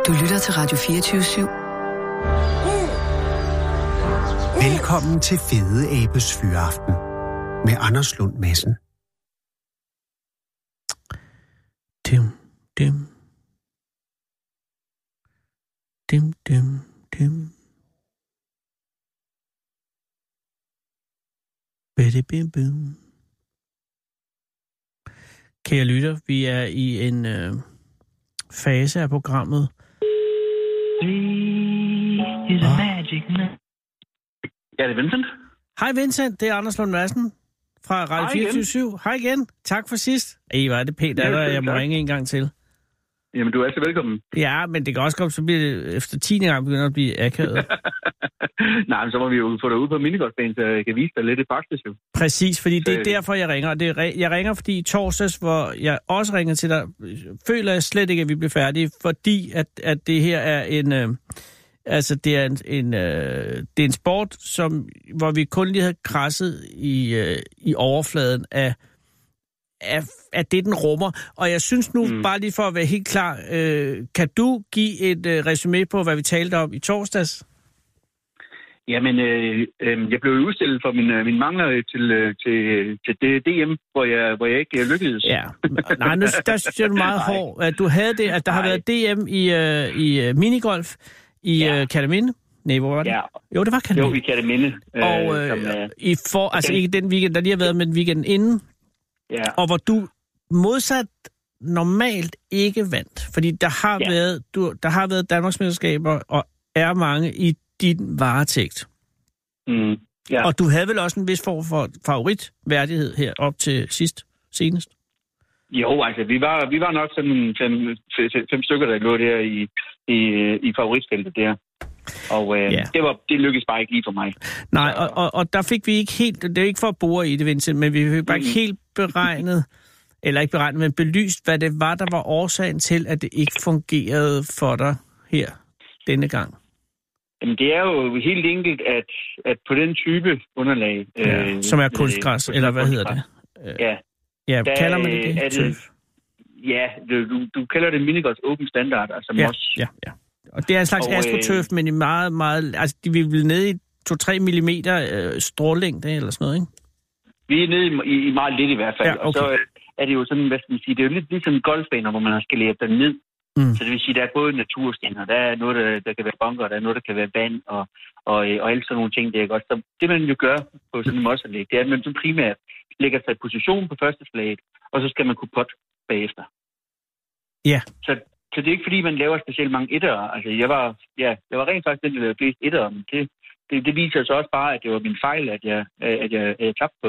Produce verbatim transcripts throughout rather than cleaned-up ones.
Du lytter til Radio fireogtyve syv. Velkommen til Fede Abes Fyraften med Anders Lund Madsen. Dim, dim. Dim, dim, dim. Bitte bim bim. Kære lytter, vi er i en øh, fase af programmet. Is a magic man. Ja, det er Vincent. Hej Vincent, det er Anders Lund Madsen fra Radio fireogtyve syv. Hej igen. Tak for sidst. Ej, hvor er det pænt, at jeg må ringe en gang til. Jamen, du er altid velkommen. Ja, men det kan også komme, så bliver det efter tiende gang begynder at blive akavet. Nej, men så må vi jo få dig ud på minigolfbanen, så jeg kan vise dig lidt i praksis jo. Præcis, fordi det er derfor, jeg ringer. Det er, jeg ringer, fordi i torsdags, hvor jeg også ringer til dig, føler jeg slet ikke, at vi bliver færdige, fordi at, at det her er en... Øh, altså, det er en, en, øh, det er en sport, som, hvor vi kun lige havde krasset i, øh, i overfladen af... Af, af det, den rummer. Og jeg synes nu, mm. bare lige for at være helt klar, øh, kan du give et øh, resumé på, hvad vi talte om i torsdags? Jamen, øh, øh, jeg blev udstillet for min, øh, min mangler til, øh, til, til det D M, hvor jeg, hvor jeg ikke øh, lykkedes. Ja, nej, nu der synes jeg, du meget hård. At du havde det, at der Nej. har været D M i, øh, i uh, minigolf i ja. uh, Kerteminde. Nej, hvor var det? Ja. Jo, det var Kerteminde. Jo, i Kerteminde. Øh, og øh, som, øh, i for, altså ikke den weekend, der lige har været, men weekenden inden. Ja. Og hvor du modsat normalt ikke vandt, fordi der har ja. været du, der har været Danmarksmesterskaber og er mange i din varetægt. Mm. Ja. Og du havde vel også en vis form for favoritværdighed her op til sidst, senest? Jo, altså vi var vi var nok sådan fem, fem, fem stykker, der lå der i i, i favoritfeltet der. Og øh, ja. det var det lykkedes bare ikke lige for mig. Nej, og, og, og der fik vi ikke helt, det er ikke for at bore i det, Vincent, men vi fik bare mm. ikke helt beregnet, eller ikke beregnet, men belyst, hvad det var, der var årsagen til, at det ikke fungerede for dig her denne gang. Jamen, det er jo helt enkelt, at, at på den type underlag... Ja, øh, som er kunstgræs, øh, eller hvad hedder det? Ja. Ja, der, kalder man det det? Er det ja, du, du kalder det minigolfs open standard, altså ja, også... Ja, ja. Og det er en slags og, astroturf, øh, men i meget, meget... Altså, de vil vel ned i to til tre millimeter øh, strålængde eller sådan noget, ikke? Vi er nede i, i meget lidt i hvert fald. Ja, okay. Og så er det jo sådan, hvad skal man sige, det er jo lidt ligesom golfbaner, hvor man har skaleret den ned. Mm. Så det vil sige, der er både naturstener, der er noget, der, der kan være bunker, der er noget, der kan være vand, og, og, og alle sådan nogle ting, det er godt. Så det, man jo gør på sådan en mosseanlæg, det er, at man så primært lægger sig i position på første slaget, og så skal man kunne pot bagefter. Ja. Så, så det er ikke, fordi man laver specielt mange ettere. Altså, jeg var, ja, jeg var rent faktisk den, der lavede flest ettere, men det, det, det viser så også bare, at det var min fejl, at jeg, at jeg, at jeg tabte på.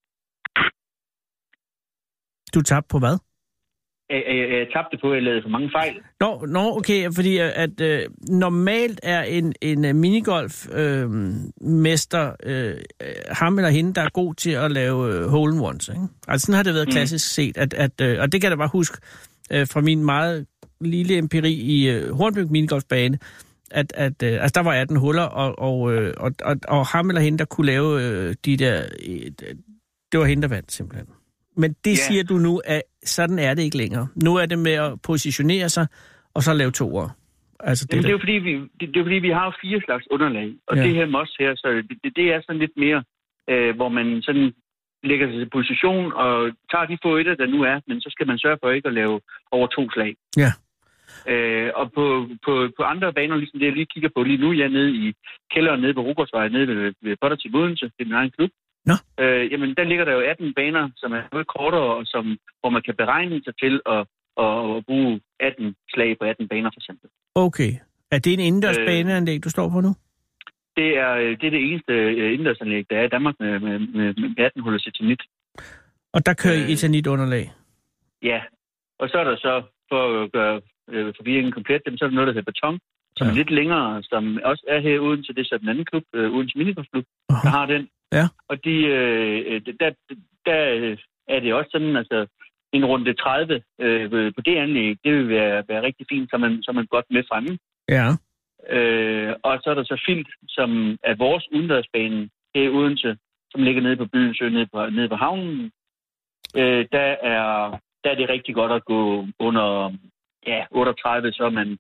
Du tabte på hvad? Jeg, jeg, jeg tabte på, at jeg lavede for mange fejl. Nå, nå okay, fordi at øh, normalt er en, en minigolf-mester øh, øh, ham eller hende, der er god til at lave øh, hole-in-ones, ikke? Altså sådan har det været mm. klassisk set, at, at, øh, og det kan jeg da bare huske øh, fra min meget lille empiri i øh, Hornbæk minigolfbane, at, at øh, altså der var atten huller, og, og, øh, og, og, og ham eller hende, der kunne lave øh, de der, øh, det var hende, der vandt simpelthen. Men det yeah. siger du nu, at sådan er det ikke længere. Nu er det med at positionere sig, og så lave toer. Altså, det, Jamen, det, er jo, fordi vi, det, det er fordi, vi har fire slags underlag. Og ja. det her mos her, så det, det er sådan lidt mere, øh, hvor man sådan lægger sig i position og tager de få etter, der nu er, men så skal man sørge for ikke at lave over to slag. Ja. Øh, og på, på, på andre baner, ligesom det jeg lige kigger på lige nu, jeg er nede i kælderen nede på Rugårdsvej, nede ved, ved Pottertip Odense, det er min egen klub. Nå. Øh, jamen, der ligger der jo atten baner, som er noget kortere, og som, hvor man kan beregne sig til at, at, at bruge atten slag på atten baner, for eksempel. Okay. Er det en indendørs øh, baneanlæg, du står på nu? Det er det, er det eneste indendørsanlæg, der er i Danmark med, med, med, med atten huller eternit. Og der kører I øh, eternit-underlag? Ja. Og så er der så, for at gøre øh, forvirringen komplet, så er der noget, der hedder beton, som ja. er lidt længere, som også er her uden til det, så den anden klub, øh, uden til minigolfklub, uh-huh. der har den. Ja. Og de, øh, der, der er det også sådan, altså en runde tredive øh, på det anlæg, det vil være, være rigtig fint, så man, så man godt med fremme. Ja. Øh, og så er der så Filt, som er vores udendørsbane her i Odense, som ligger nede på byen Sø, nede på, nede på havnen. Øh, der, er, der er det rigtig godt at gå under ja, otteogtredive, så er man,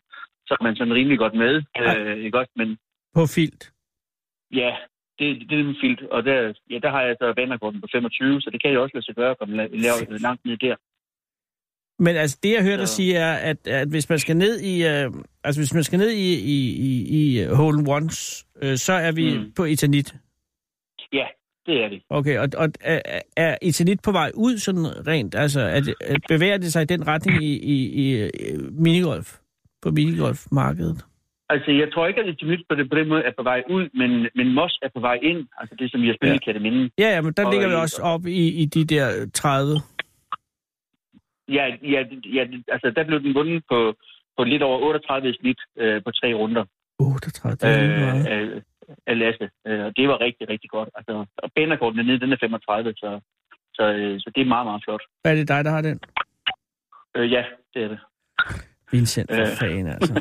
så er man sådan rimelig godt med. Øh, ikke også? Men på filt? Ja, det, det er med filt. Og der, ja, der har jeg så banerekorden på femogtyve, så det kan jeg også lade sig gøre at komme la- langt ned der. Men altså, det jeg hører dig sige er, at, at hvis man skal ned i, øh, altså hvis man skal ned i, i, i, i hole in ones, øh, så er vi mm. på Eternit. Ja, det er det. Okay, og, og er, er Eternit på vej ud sådan rent? Altså, at, at bevæger det sig i den retning i, i, i minigolf, på minigolfmarkedet? Altså, jeg tror ikke, at Eternit på, det, på den måde er på vej ud, men, men Moss er på vej ind. Altså, det som vi har spillet ja. i Kærteminde. Ja, ja, men der og ligger vi også op i, i de der tredive. Ja, ja, ja, altså der blev den vundet på, på lidt over otteogtredive snit øh, på tre runder. otteogtredive, det er lige meget. Øh, af Lasse. Øh, og det var rigtig, rigtig godt. Altså, og banerekorden dernede, den er femogtredive, så, så, øh, så det er meget, meget flot. Er det dig, der har den? Øh, ja, det er det. Vincent, for øh. fanden, altså.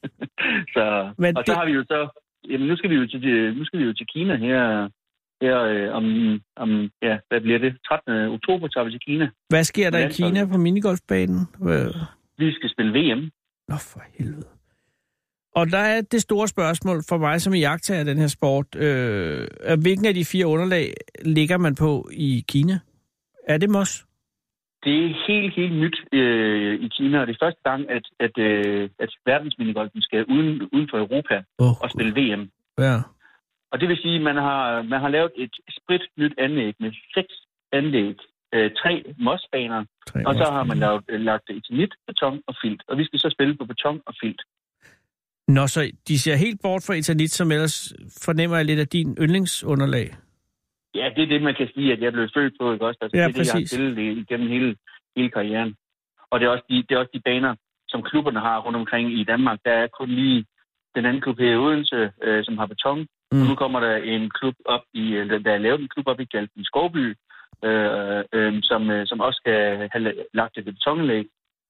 så, Men og det... så har vi jo så... Jamen, nu skal vi jo til, nu skal vi jo til Kina her... Her øh, om, om, ja, hvad bliver det? trettende oktober tager vi til Kina. Hvad sker der i Kina på minigolfbanen? Vi skal spille V M. Nå, for helvede. Og der er det store spørgsmål for mig, som iagttager af den her sport. Øh, hvilken af de fire underlag ligger man på i Kina? Er det Moss? Det er helt, helt nyt øh, i Kina, og det er første gang, at, at, øh, at verdensminigolfen skal uden, uden for Europa oh, og spille V M. Ja. Og det vil sige, at man har, man har lavet et sprit nyt anlæg med seks anlæg, øh, tre mossbaner, tre og så har man lavet, lagt eternit, beton og filt. Og vi skal så spille på beton og filt. Nå, så de ser helt bort fra eternit, som ellers fornemmer jeg lidt af din yndlingsunderlag. Ja, det er det, man kan sige, at jeg blev født på, ikke også? Altså, ja, det er det, jeg har spillet igennem hele, hele karrieren. Og det er, også de, det er også de baner, som klubberne har rundt omkring i Danmark. Der er kun lige den anden klub her i Odense, øh, som har beton. Mm. Og nu kommer der en klub op i, der er lavet en klub op i Galten Skovby, øh, øh, som, øh, som også skal have lagt et betonanlæg.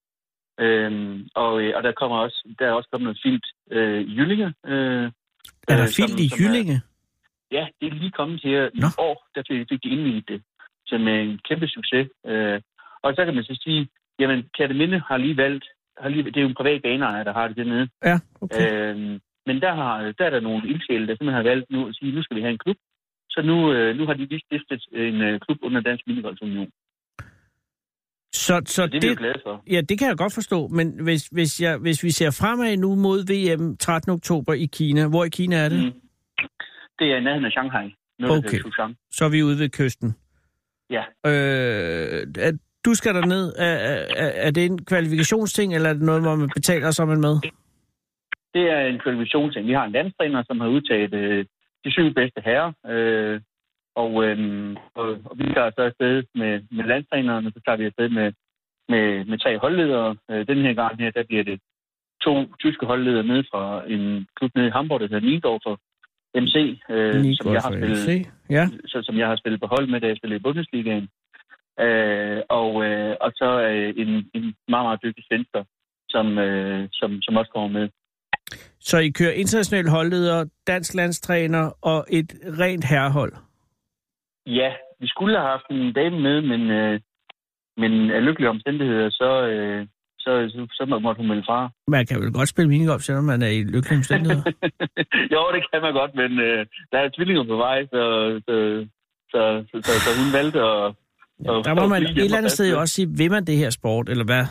Øh, og, og der kommer også, der er også kommet noget filt øh, i Jyllinge. Øh, er der filt i Jyllinge? Ja, det er lige kommet her i Nå. år, der fik, fik de indvidet det, som er en kæmpe succes. Øh, og så kan man så sige, jamen Kærteminde har lige valgt, har lige, det er jo en privat baneejer, der har det dernede. Ja, okay. Øh, Men der, har, der er der nogle ildsjæle, der simpelthen har valgt nu at sige, nu skal vi have en klub. Så nu, øh, nu har de lige stiftet en øh, klub under Dansk Minigolfunion. Så, så, så det er vi jo glade for. Ja, det kan jeg godt forstå. Men hvis, hvis, jeg, hvis vi ser fremad nu mod V M trettende oktober i Kina, hvor i Kina er det? Mm. Det er i nærheden af Shanghai. Okay, så er vi ude ved kysten. Ja. Øh, at du skal derned. Er, er, er det en kvalifikationsting, eller er det noget, hvor man betaler sig med? Det er en kvalifikationsting. Vi har en landstræner, som har udtaget øh, de syv bedste herrer. Øh, og, øh, og, og vi tager så afsted med, med landstræneren, og så tager vi afsted med, med, med tre holdledere. Øh, den her gang her, der bliver det to tyske holdledere ned fra en klub nede i Hamburg, der hedder Niendorfer M C, øh, som, jeg har spillet, ja. så, som jeg har spillet på hold med, da jeg spillede i Bundesligaen. Øh, og, øh, og så øh, en, en meget, meget dygtig svensker, som, øh, som, som også kommer med. Så I kører international holdleder, dansk landstræner og et rent herrehold? Ja, vi skulle have haft en dame med, men, øh, men af lykkelige omstændigheder, så, øh, så, så, så måtte hun melde fra. Man kan vel godt spille minigolf, selvom man er i lykkelige omstændigheder? Jo, det kan man godt, men øh, der er tvillinger på vej, så, så, så, så, så, så hun valgte at... Ja, der må man et eller andet sted jo også sige, vil man det her sport, eller hvad?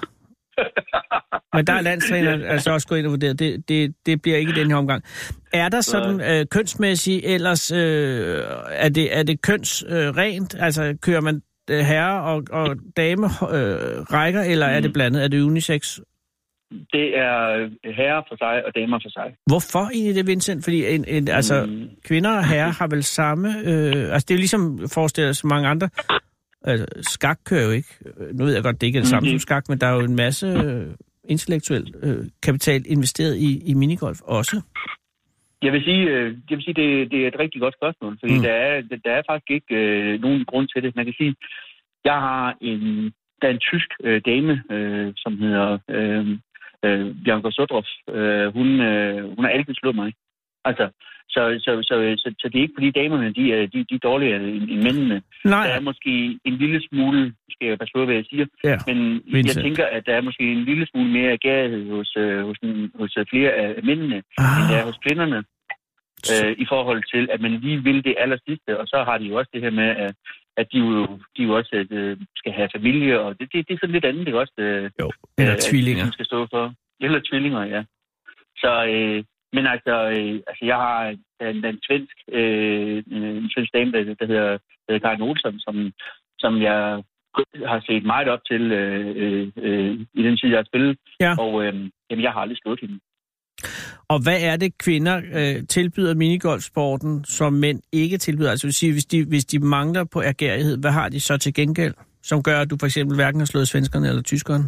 Men der er landstræneren altså også gået ind og vurderet. Det, det, det bliver ikke i den her omgang. Er der sådan øh, kønsmæssigt, ellers øh, er, det, er det kønsrent? Øh, altså kører man øh, herre og, og dame øh, rækker, eller mm. er det blandet? Er det unisex? Det er herrer for sig og damer for sig. Hvorfor egentlig det, Vincent? Fordi en, en, altså, mm. kvinder og herrer har vel samme... Øh, altså det er jo ligesom forestillet så mange andre... Altså, skak kører jo ikke. Nu ved jeg godt, det ikke er det samme mm. som skak, men der er jo en masse øh, intellektuel øh, kapital investeret i, i minigolf også. Jeg vil sige, øh, jeg vil sige det, det er et rigtig godt spørgsmål, fordi mm. der, er, der er faktisk ikke øh, nogen grund til det. Man kan sige, jeg har en, der er en tysk øh, dame, øh, som hedder øh, øh, Bianca Sodroff. Øh, hun, øh, hun har altid slået mig. Altså, så, så, så, så, så det er ikke fordi damerne, de er, de, de er dårligere end, end mændene. Nej. Der er måske en lille smule, skal jeg passe på, hvad jeg siger, ja, men Vincent. jeg tænker, at der er måske en lille smule mere gærighed hos, øh, hos, hos flere af mændene, ah. end der er hos kvinderne, øh, i forhold til, at man lige vil det aller sidste, og så har de jo også det her med, at, at de, jo, de jo også øh, skal have familie, og det, det, det er sådan lidt andet, det også. Øh, jo, eller øh, tvillinger. At, skal stå for. Eller tvillinger, ja. Så, øh, men altså, øh, altså, jeg har en, en svensk, øh, en svensk dame, der, der hedder, hedder Karin Olsson, som, som jeg har set meget op til øh, øh, i den tid, jeg har spillet. Ja. Og øh, jamen, jeg har aldrig slået hende. Og hvad er det, kvinder øh, tilbyder minigolfsporten, som mænd ikke tilbyder? Altså vil sige, hvis de, hvis de mangler på ergærighed, hvad har de så til gengæld, som gør, at du for eksempel hverken har slået svenskerne eller tyskerne?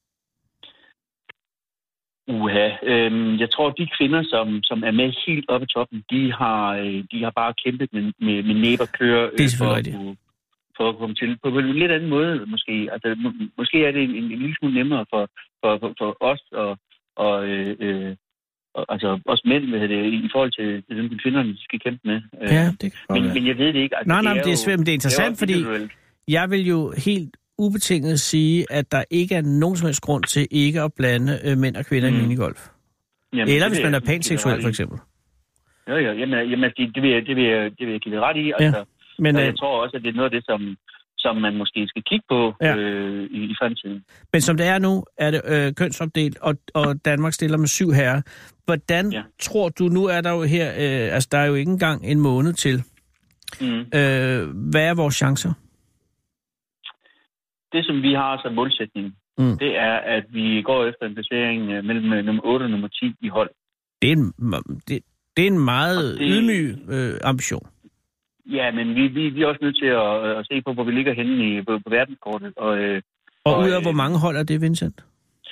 Uha. Øhm, jeg tror, de kvinder, som, som er med helt oppe i toppen, de har, de har bare kæmpet med, med, med næb og klør øh, for, at kunne, for at komme til. På en lidt anden måde, måske. Altså, må, måske er det en, en, en lille smule nemmere for, for, for, for os og, og øh, øh, altså også mænd, hvad det, i forhold til den kvinderne, de skal kæmpe med. Ja, det kan men, men jeg ved det ikke. Altså, nej, nej, det er, det er svært, men det er interessant, det er fordi jeg vil jo helt ubetinget sige, at der ikke er nogen som helst grund til ikke at blande øh, mænd og kvinder mm. i minigolf. Jamen, eller hvis man er panseksuel, for eksempel. Jo, jo, jamen, jamen det, det, vil jeg, det, vil jeg, det vil jeg give det ret i. Altså, ja. Men jeg øh, tror også, at det er noget af det, som, som man måske skal kigge på ja. øh, i, i fremtiden. Men som det er nu, er det øh, kønsopdelt, og, og Danmark stiller med syv herrer. Hvordan ja. tror du, nu er der jo her, øh, altså der er jo ikke engang en måned til. Mm. Øh, hvad er vores chancer? Det, som vi har som målsætning, mm. det er, at vi går efter en placering mellem nummer otte og nummer ti i hold. Det er en, det, det er en meget det, ydmyg øh, ambition. Ja, men vi, vi, vi er også nødt til at, at se på, hvor vi ligger henne i, på, på verdenskortet. Og, øh, og, og ud af øh, hvor mange hold er det, Vincent?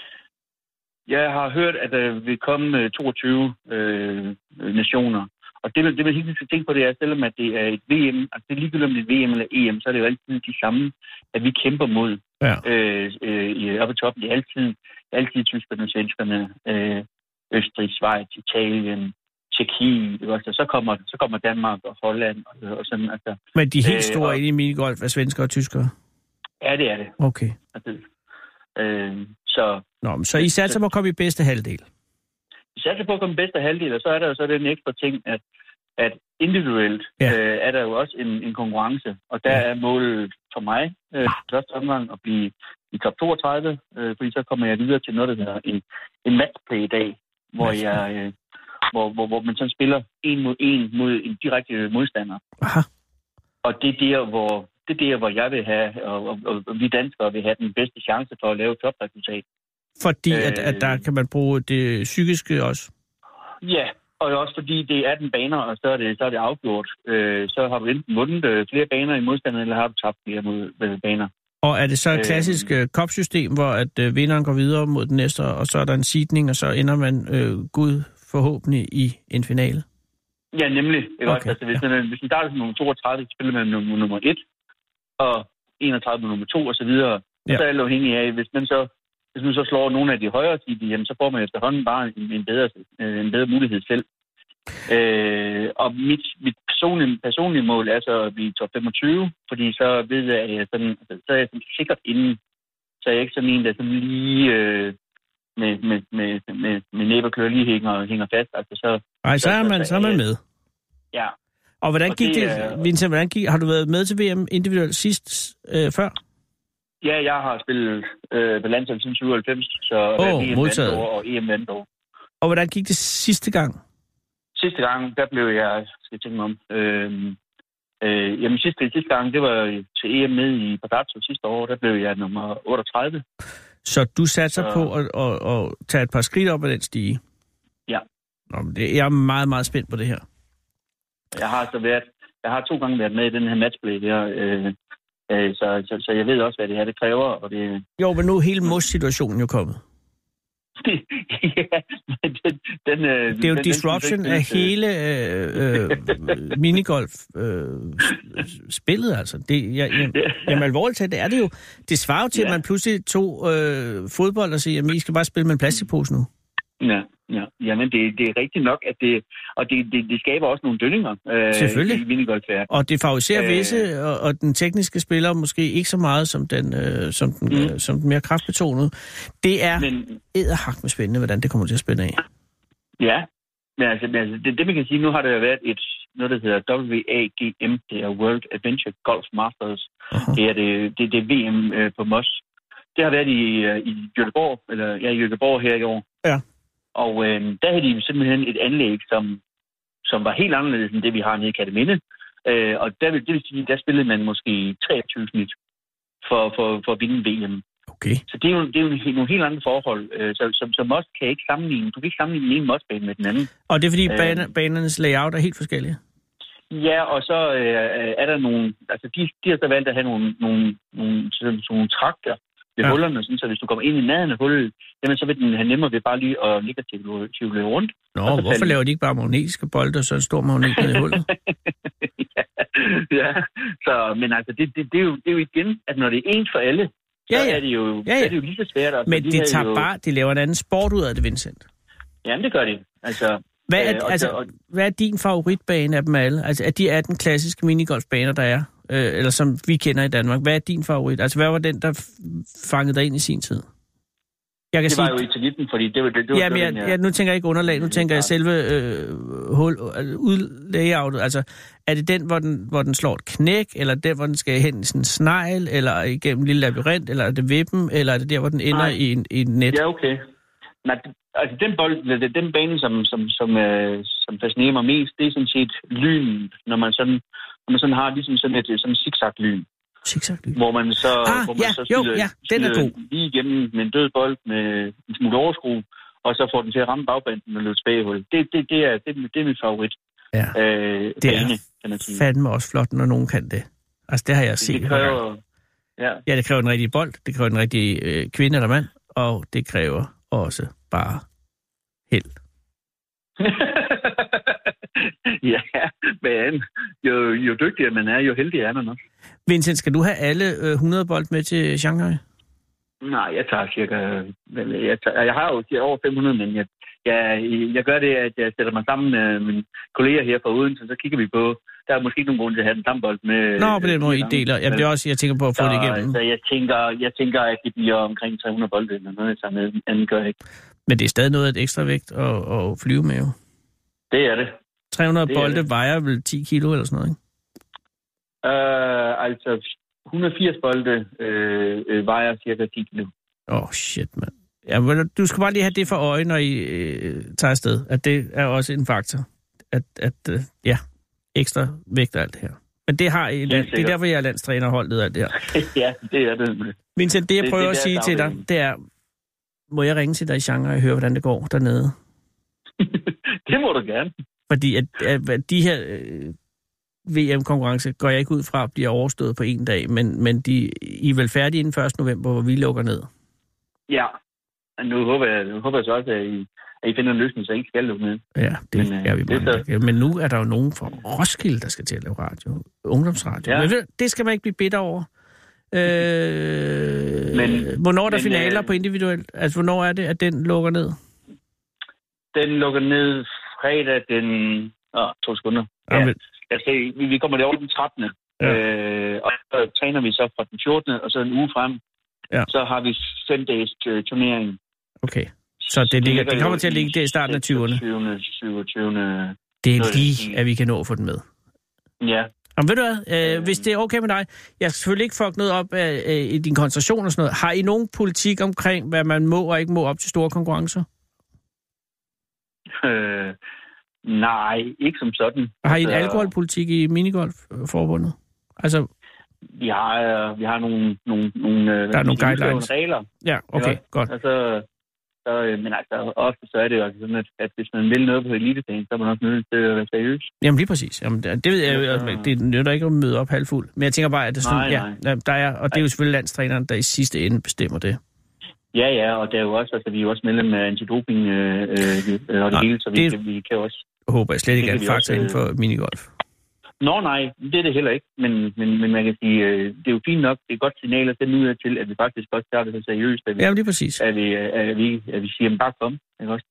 Jeg har hørt, at der vil komme toogtyve øh, nationer. Og det, det man helt skal tænke på, det er, selvom at det er et V M, altså det er ligegyldigt om det er et V M eller E M, så er det jo altid de samme, at vi kæmper mod ja. øh, øh, oppe i toppen. Det er altid, altid tyskerne, svenskerne, øh, Østrig, Schweiz, Italien, Tjekkiet, og så kommer, så kommer Danmark og Holland og, og sådan. Altså, men de helt store øh, inde i minigolf er svenskere og tyskere? Ja, det er det. Okay. Altså, øh, så, Nå, så I satser på at komme i bedste halvdel? Vi satser på at komme i bedste halvdel, og så er der jo så den ekstra ting, at, at individuelt ja. øh, er der jo også en, en konkurrence, og der ja. er målet for mig øh, første omgang at blive i top toogtredive, øh, fordi så kommer jeg videre til noget, der hedder en, en matchplay i dag, hvor jeg... Øh, Hvor, hvor, hvor man så spiller en mod en mod en direkte modstander. Aha. Og det er der, hvor, det er der, hvor jeg vil have, og, og, og, og vi danskere vil have den bedste chance for at lave et topresultat. Fordi øh, at, at der kan man bruge det psykiske også? Ja, og også fordi det er den baner, og så er det, så er det afgjort. Øh, så har du enten vundet øh, flere baner i modstanderen, eller har du tabt flere mod, øh, baner. Og er det så et klassisk øh, cup-system, hvor at øh, vinderen går videre mod den næste, og så er der en seedning, og så ender man øh, Gud forhåbentlig i en finale? Ja, nemlig. Okay, altså, hvis, ja. man, hvis man starter som nummer toogtredive, så spiller man nummer, nummer et, og enogtredive med nummer to, og så videre. Og ja. så er det afhængigt af, hvis man så, hvis man så slår nogle af de højere tider, jamen, så får man efterhånden bare en, en, bedre, en bedre mulighed selv. Øh, og mit, mit personlige, personlige mål er så at blive top femogtyve, fordi så ved jeg, at jeg sådan, så er jeg sådan sikkert inden, så er jeg ikke sådan en, der sådan lige... Øh, med, med, med, med, med næberklør lige hænger, hænger fast. Altså, så, Ej, så er man, så er man med. Ja. Og hvordan og gik det, det Vincent, hvordan gik, har du været med til V M individuelt sidst øh, før? Ja, jeg har spillet øh, på landsholdet siden syvoghalvfems, så oh, V M modtaget. År og E M vandt år. Og hvordan gik det sidste gang? Sidste gang, der blev jeg, skal jeg tænke mig om, øh, øh, jamen sidste, sidste gang, det var til E M med i Palazzo sidste år, der blev jeg nummer otteogtredive. Så du satser så... på at, at, at tage et par skridt op ad den stige? Ja. Nå, men det, jeg er meget, meget spændt på det her. Jeg har så været, jeg har to gange været med i den her matchplay der, øh, øh, så, så, så jeg ved også, hvad det her det kræver. Og det... Jo, men nu er hele mos-situationen jo kommet. ja, den, den, øh, det er jo den, disruption den, af hele øh, øh, minigolf-spillet, øh, altså. Det, jeg, jeg, jamen alvorligt talt, det er det jo. Det svarer jo til, ja. at man pludselig tog øh, fodbold og siger, at I skal bare spille med en plastikpose nu. Ja, Ja, jamen det, det er rigtigt nok, at det, og det, det, det skaber også nogle dønninger øh, Selvfølgelig. i minigolfverdenen. Og det favoriserer Øh. visse, og, og den tekniske spiller måske ikke så meget som den, øh, som den, Mm. øh, som den mere kraftbetonede. Det er Men, edderhak med spændende, hvordan det kommer til at spænde af. ja, men altså, men altså det, det man kan sige, nu har der jo været et, noget, der hedder W A G M, det er World Adventure Golf Masters. Uh-huh. Det er det, det, det er V M øh, på Moss. Det har været i, øh, i Göteborg, eller ja, i Göteborg her i år. Ja. Og øh, der havde de simpelthen et anlæg, som, som var helt anderledes end det, vi har nede i Katteminde. Øh, og der vil, det vil sige, der spillede man måske treogtyve snit for, for, for at vinde V M. Okay. Så det er jo, det er jo nogle helt andre forhold. Øh, så, så, så Moss kan ikke sammenligne. Du kan ikke sammenligne en Moss-bane med den anden. Og det er fordi Øh. bane, banernes layout er helt forskellige? Ja, og så øh, er der nogle... Altså, de, de har så valgt at have nogle, nogle, nogle, sådan, sådan nogle trakter ved Ja. hullerne, sådan, så hvis du kommer ind i nærheden af hullet, jamen, så vil den have nemmere ved bare lige at ligge og tivle rundt. Nå, Og så hvorfor falde- laver de ikke bare magnetiske bolde, og så en stor magnet ned i hullet? ja, ja. Så, men altså, det, det, det, er jo, det er jo igen, at når det er ens for alle, Ja, så ja. er det jo, Ja, ja. så er det jo lige så svært. Altså, Men de de havde tager jo, bare, de laver en anden sport ud af det, Vincent. Jamen, det gør de. Altså, Hvad er, øh, og, altså, og, hvad er din favoritbane af dem alle? Altså, af de atten klassiske minigolfbaner, der er, øh, eller som vi kender i Danmark, hvad er din favorit? Altså, hvad var den, der f- fangede dig ind i sin tid? Jeg kan det sige, var jo Italien, fordi det var det, det var ja, men den, jeg, jeg, nu tænker jeg ikke underlag, nu tænker jeg selve øh, hul, altså, udlayoutet. Altså, er det den, hvor den, hvor den slår et knæk, eller den, hvor den skal hen i sådan en snegl, eller igennem en lille labyrint, eller er det vippen, eller er det der, hvor den ender Nej. i, en, i et net? Ja, okay. Nej, det- altså den bold, den, den bane, som, som, som, øh, som fascinerer mig mest, det er sådan set lynen, når man sådan, når man sådan har ligesom sådan et sådan zigzag-lyn, Zigzag-lyd. hvor man så, Ah, hvor man ja, så jo, skyder, ja, den er skyder god. lige igennem med en død bold med en smule overskru, og så får den til at ramme bagbanden og løbe tilbage i hullet. Det, det, det, er, det, det er min favorit. Ja. Øh, Det er bane, kan man sige. fandme også flot, når nogen kan det. Altså, det har jeg set. Det et par gange. kræver... Ja. Ja, det kræver en rigtig bold, det kræver en rigtig øh, kvinde eller mand, og det kræver også bare held. ja, men jo, jo dygtigere man er, jo heldigere er man også. Vincent, skal du have alle øh, hundrede bold med til Shanghai? Nej, jeg tager cirka... vel, Jeg, tager, jeg har jo over fem hundrede, men jeg, jeg, jeg gør det, at jeg sætter mig sammen med mine kolleger her fra Odense, så kigger vi på... Der er måske ikke nogen grund til at have den samme bold med... Nå, på den måde, I med- deler. Jamen, det er også, jeg tænker på at få så, det igennem. Så jeg tænker, jeg tænker, at det bliver omkring tre hundrede bolde, eller noget, jeg med. Anden gør jeg ikke. Men det er stadig noget af et ekstra vægt at, at flyve med, jo. Det er det. tre hundrede Det er bolde det. vejer vel ti kilo eller sådan noget, ikke? Uh, altså, et hundrede og firs bolde øh, øh, vejer cirka ti kilo. Åh, oh, shit, mand. Ja, men du skal bare lige have det for øje, når I øh, tager afsted. At det er også en faktor. At, at øh, ja, ekstra vægt og alt det her. Men det har I, det er sikkert. derfor, jeg er landstrænerholdet og alt det her. ja, det er det. Vincent, det jeg Det- prøver det er at sige deres til dig, afdeling. det er, må jeg ringe til dig i Shanghai og høre, hvordan det går dernede? det må du gerne. Fordi at, at, at de her øh, V M-konkurrence går jeg ikke ud fra, bliver overstået på en dag, men, men de, I er vel færdige inden første november, hvor vi lukker ned? Ja, og nu håber jeg, nu håber jeg så også, at I, at I finder en løsning, så I ikke skal lukke ned. Ja, det Men, øh, er vi det er mange. så- der kan. Men nu er der jo nogen fra Roskilde, der skal til at lave radio. Ungdomsradio. Ja. Men ved, du, det skal man ikke blive bitter over. Øh, Men- hvornår er der men, finaler øh, på individuelt? Altså, hvornår er det, at den lukker ned? Den lukker ned fredag den... Åh, to sekunder. Ja, Ja, men- altså, vi, vi kommer derovre den trettende Ja. Øh, og så træner vi så fra den fjortende og så en uge frem. Ja. Så har vi fem dages øh, turnering. Okay. Så det, ligger, det kommer jo til at ligge der i starten af tyverne. seksogtyvende, syvogtyvende Det er noget lige, i- at vi kan nå at få den med. Ja. Jamen ved du hvad, øh, hvis det er okay med dig, jeg skal selvfølgelig ikke fuck noget op af, af, i din koncentration og sådan noget. Har I nogen politik omkring, hvad man må og ikke må op til store konkurrencer? Øh, nej, ikke som sådan. Har I en Altså, alkoholpolitik i minigolfforbundet? Altså, Vi har, øh, vi har nogle, nogle, nogle, øh, Der er nogle nogle guidelines. regler. ja, okay, Ikke? godt. Altså, så, øh, men altså, ofte så er det jo altså sådan, at, at hvis man vil noget på elitedagen, så er man også nødt til at være seriøs. Jamen lige præcis. Jamen, det det ved jeg jo, Ja, at det nytter ikke at møde op halvfuld. Men jeg tænker bare, at det er sådan, Nej, ja, nej. ja, der er, og det er jo selvfølgelig landstræneren, der i sidste ende bestemmer det. Ja, ja, og der er jo også, altså, vi er jo også medlem af antidoping øh, øh, og det Nej, hele, så vi, det- det... vi kan også... Jeg håber jeg slet ikke Det er kan en vi faktor også, inden for minigolf. Nå nej, det er det heller ikke, men, men, men man kan sige, øh, det er jo fint nok, det er et godt signal at sende ud af til, at vi faktisk også tager det så seriøst, at vi, Jamen lige præcis. at vi, at vi, at vi siger, bare kom, ikke også?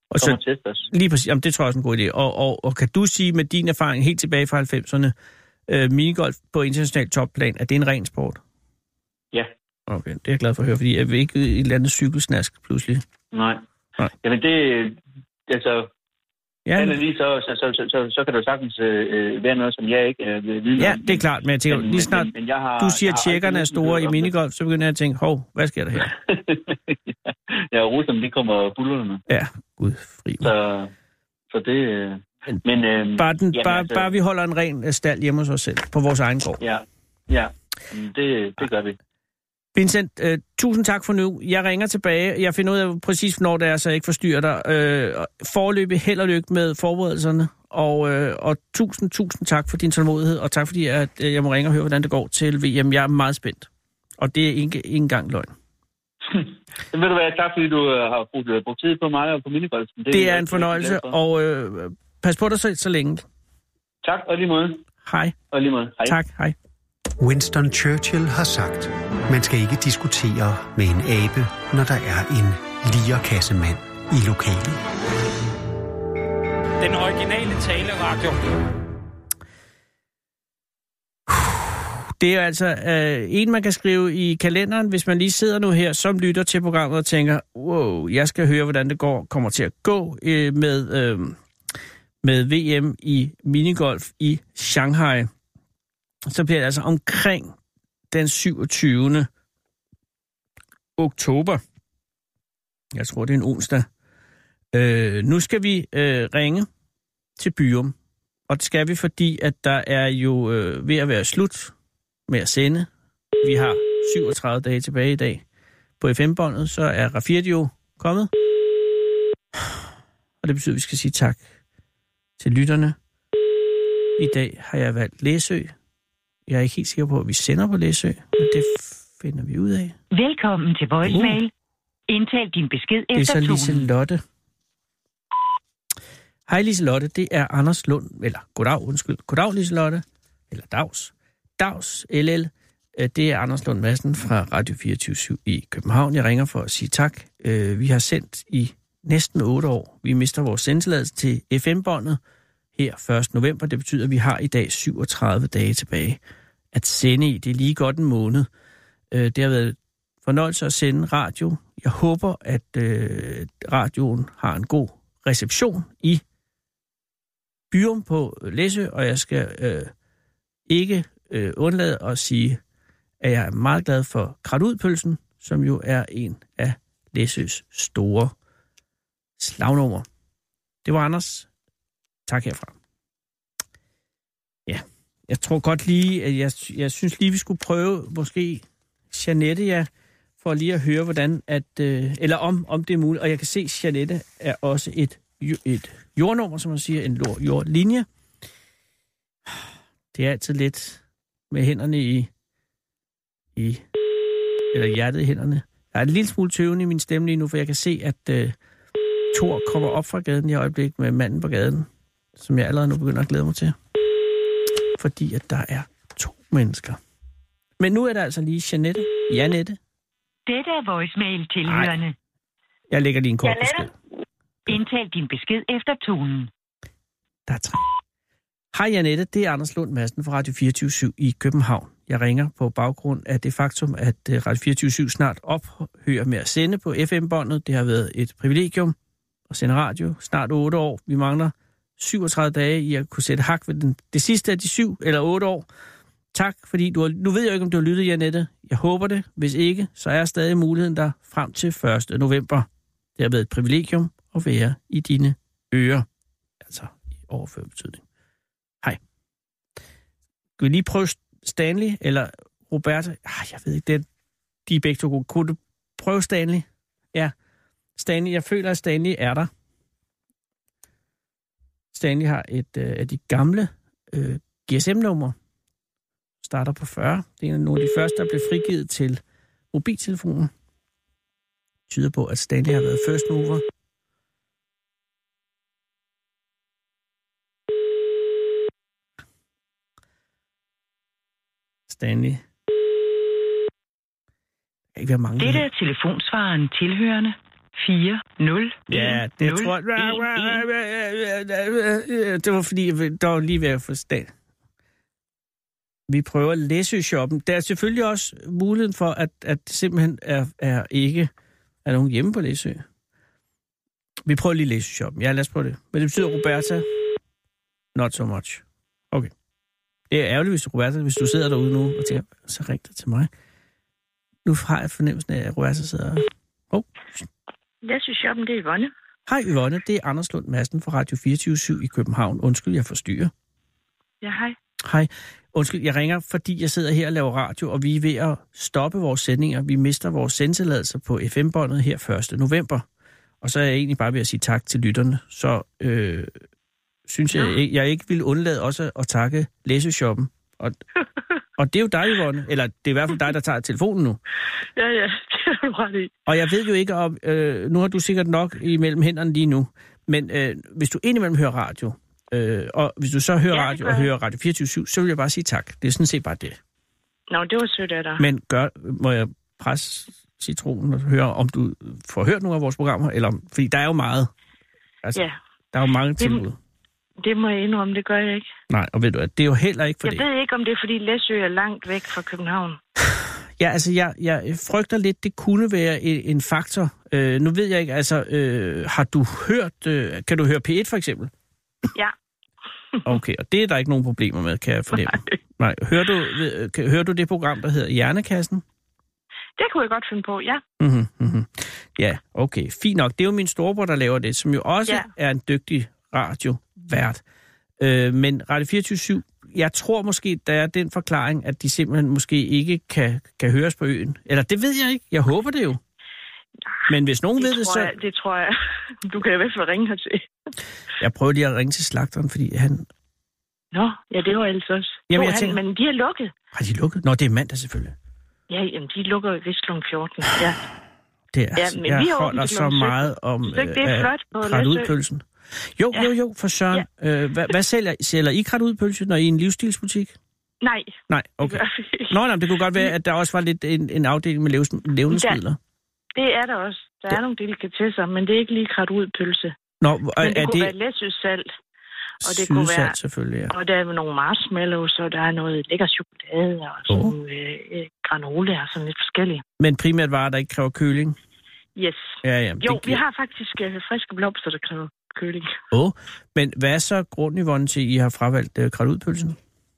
Og Kom og så, test os. lige præcis, jamen, det tror jeg også er en god idé. Og, og, og kan du sige med din erfaring helt tilbage fra halvfemserne, øh, minigolf på international topplan, at det er en ren sport? Ja. Okay, det er jeg glad for at høre, fordi jeg vil ikke i et eller andet cykelsnask pludselig. Nej. Nej. Jamen det, altså, Ja, men... lige så, så, så, så, så, så kan det jo sagtens øh, være noget, som jeg ikke øh, vil vide. ja, det er klart, men jeg tænker, men, lige snart men, men jeg har, du siger, at tjekkerne er store i minigolf, så begynder jeg at tænke, hov, hvad sker der her? ja, Rusland, de kommer bullerne. Ja, gud fri. Så, så det... Øh, men, øh, bare, den, jamen, bare, altså, bare vi holder en ren stald hjemme hos os selv, på vores egen gård. Ja, ja, det, det gør vi. Vincent, øh, tusind tak for nu. Jeg ringer tilbage. Jeg finder ud af præcis, hvornår det er, så jeg ikke forstyrrer dig. Øh, forløbig held og lykke med forberedelserne. Og, øh, og tusind, tusind tak for din tålmodighed, og tak fordi at, øh, jeg må ringe og høre, hvordan det går til V M. Jeg er meget spændt. Og det er ikke, ikke engang løgn. Det vil du være. Tak fordi du har brugt, brugt tid på mig og på minigolfen. Det, det er en fornøjelse, og øh, pas på dig selv så længe. Tak, og lige måde. Hej. Og lige måde. Hej. Tak, hej. Winston Churchill har sagt, man skal ikke diskutere med en abe, når der er en lierkassemand i lokalet. Den originale taleradio. Det er altså øh, en, man kan skrive i kalenderen, hvis man lige sidder nu her, som lytter til programmet og tænker, wow, jeg skal høre, hvordan det går, kommer til at gå øh, med, øh, med V M i minigolf i Shanghai. Så bliver det altså omkring den syvogtyvende oktober. Jeg tror, det er en onsdag. Øh, nu skal vi øh, ringe til Byrum. Og det skal vi, fordi at der er jo øh, ved at være slut med at sende. Vi har syvogtredive dage tilbage i dag. På F M-båndet, så er Rafirdio kommet. Og det betyder, at vi skal sige tak til lytterne. I dag har jeg valgt Læsø. Jeg er ikke helt sikker på, at vi sender på Læsø, men det finder vi ud af. Velkommen til voicemail. Uh. Indtal din besked efter Det er så tonen. Liselotte. Hej Liselotte, det er Anders Lund, eller goddag, undskyld. Goddag Liselotte, eller Dags. Dags, L L. Det er Anders Lund Madsen fra Radio fireogtyve syv i København. Jeg ringer for at sige tak. Vi har sendt i næsten otte år. Vi mister vores sendetilladelse til F M-båndet her første november. Det betyder, at vi har i dag syvogtredive dage tilbage at sende i. Det er lige godt en måned. Det har været fornøjelse at sende radio. Jeg håber, at øh, radioen har en god reception i Byrum på Læsø, og jeg skal øh, ikke øh, undlade at sige, at jeg er meget glad for Kratudpølsen, som jo er en af Læsøs store slagnummer. Det var Anders. Tak herfra. Ja, jeg tror godt lige, at jeg, jeg synes lige, vi skulle prøve måske Jeanette, ja, for lige at høre, hvordan at, øh, eller om, om det er muligt. Og jeg kan se, at Jeanette er også et, et jordnummer, som man siger, en jordlinje. Det er altid lidt med hænderne i, i eller hjertet i hænderne. Jeg er en lille smule tøvende i min stemme lige nu, for jeg kan se, at øh, Thor kommer op fra gaden i øjeblik med manden på gaden, som jeg allerede nu begynder at glæde mig til. Fordi at der er to mennesker. Men nu er der altså lige Jeanette. Janette. Dette er voicemail tilhørende. Jeg lægger lige en kort besked. Indtal din besked efter tonen. Der er tre. Hej Janette, det er Anders Lund Madsen fra Radio fireogtyve syv i København. Jeg ringer på baggrund af det faktum, at Radio fireogtyve syv snart ophører med at sende på F M-båndet. Det har været et privilegium at sende radio. Snart otte år. Vi mangler syvogtredive dage i at kunne sætte hak ved den, det sidste af de syv eller otte år. Tak, fordi du har, nu ved jeg ikke, om du har lyttet, Janette. Jeg håber det. Hvis ikke, så er stadig muligheden der frem til første november. Det har været et privilegium at være i dine ører. Altså i overført betydning. Hej. Skal vi lige prøve Stanley eller Roberta? Ah, jeg ved ikke, det er, de er begge to gode. Kunne du prøve Stanley? Ja. Stanley, jeg føler, at Stanley er der. Stanley har et øh, af de gamle øh, G S M-numre. Starter på fyrre. Det er nogle af de første, der blev frigivet til mobiltelefonen. Det tyder på, at Stanley har været first mover. Stanley. Der kan ikke være mange. Dette er telefonsvaren tilhørende. fire nul. Ja, det tror jeg... Det var fordi, der var lige ved at forstå. Vi prøver Læsø-shoppen. Der er selvfølgelig også muligheden for, at, at det simpelthen er, er ikke er nogen hjemme på Læsø. Vi prøver lige Læsø-shoppen. Ja, lad os prøve det. Men det betyder Roberta? Not so much. Okay. Det er ærgerligt, hvis Roberta, hvis du sidder derude nu og tænker, så ring dig til mig. Nu har jeg fornemmelsen af, at Roberta sidder... Oh. Læsø-shoppen, det er Yvonne. Hej Yvonne, det er Anders Lund Madsen fra Radio fireogtyve syv i København. Undskyld, jeg forstyrrer. Ja, hej. Hej. Undskyld, jeg ringer, fordi jeg sidder her og laver radio, og vi er ved at stoppe vores sendinger. Vi mister vores sendtilladelser på F M-båndet her første november. Og så er jeg egentlig bare ved at sige tak til lytterne. Så øh, synes jeg, jeg, jeg ikke vil undlade også at takke Læsø-shoppen. Og, og det er jo dig, Yvonne. Eller det er i hvert fald dig, der tager telefonen nu. Ja, ja, det er du ret i. Og jeg ved jo ikke om... Øh, nu har du sikkert nok imellem hænderne lige nu. Men øh, hvis du indimellem hører radio... Øh, og hvis du så hører ja, radio og hører Radio fireogtyve syv, så vil jeg bare sige tak. Det er sådan set bare det. Nå, det var sødt af dig. Men gør, må jeg presse citronen og høre, om du får hørt nogle af vores programmer? Eller om, fordi der er jo meget. Altså, ja. Der er jo mange det, tilbud. Det må jeg indrømme, det gør jeg ikke. Nej, og ved du at det er jo heller ikke for jeg det. Jeg ved ikke, om det er, fordi Læsø er langt væk fra København. Ja, altså, jeg, jeg frygter lidt, det kunne være en, en faktor. Øh, nu ved jeg ikke, altså, øh, har du hørt, øh, kan du høre P et for eksempel? Ja. Okay, og det er der ikke nogen problemer med, kan jeg fornemme. Nej. Nej. Hører du, øh, hører du det program, der hedder Hjernekassen? Det kunne jeg godt finde på, ja. Mm-hmm, mm-hmm. Ja, okay, fint nok. Det er jo min storebror, der laver det, som jo også ja. er en dygtig radiovært. Øh, men Radio fireogtyve syv, jeg tror måske, der er den forklaring, at de simpelthen måske ikke kan, kan høres på øen. Eller det ved jeg ikke. Jeg håber det jo. Men hvis nogen det ved det, så... Jeg, det tror jeg. Du kan i hvert fald ringe hertil. Jeg prøver lige at ringe til slagteren, fordi han... Nå, ja, det var ellers også. Jamen, jeg han, tænker... Men de er lukket. Har de lukket? Nå, det er mandag selvfølgelig. Ja, jamen, de lukker vist klokken fjorten. Ja. Det er, ja, men jeg vi holder så meget om øh, det er flot på krat-ud-pølsen. Jo, ja. jo, jo, for søren. Ja. Øh, hvad, hvad sælger, sælger I krat-ud-pølse, når I er en livsstilsbutik? Nej. Nej, okay. Nå, nej, det kunne godt være, at der også var lidt en, en afdeling med levnedsmidler. Det er der også. Der er ja. nogle delikatesser, men det er ikke lige krat-ud-pølse. Nå, men er det kunne det... være Læsø-salt. Og det kunne være, selvfølgelig, ja. Og der er nogle marshmallows, og der er noget lækker chokolade, og sådan oh. øh, granola, og sådan lidt forskellige. Men primært varer, der ikke kræver køling? Yes. Ja, ja. Jo, det... vi har faktisk øh, friske blomster, der kræver køling. Åh, oh. Men hvad er så grunden, Yvonne, til, at I har fravalgt øh, krat-ud-pølsen?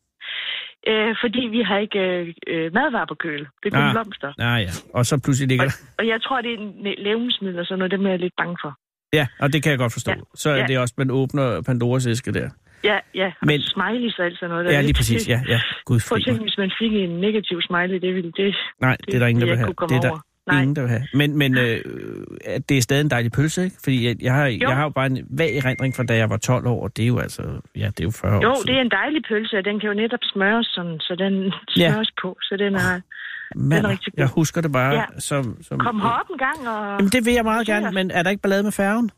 Øh, fordi vi har ikke øh, madvarer på køl. Det er kun ah. blomster. Ah ja, og så pludselig ligger der... Og, og jeg tror, det er levnedsmidler, så noget, dem er jeg lidt bange for. Ja, og det kan jeg godt forstå. Ja. Så er ja. det også, man åbner Pandoras æske der. Ja, ja. Men smileys og alt sådan noget. Der ja, lige præcis. Ja, ja. Gud fri. Prøv at tænke, hvis man fik en negativ smiley, det ville det... Nej, det, det er der ingen, der vil have. Det er der Nej. ingen, der vil have. Men, men øh, det er stadig en dejlig pølse, ikke? Fordi jeg, jeg, har, jo. jeg har jo bare en vag erindring fra, da jeg var tolv år, og det er jo altså... Ja, det er jo fyrre jo, år Jo, det er en dejlig pølse, og den kan jo netop smøres sådan, så den smøres ja. på, så den er... Oh. Mand, den er rigtig god. Jeg husker det bare ja. som... som Kom herop en gang og... Jamen, det vil jeg meget gerne, men er der ikke ballade med færgen?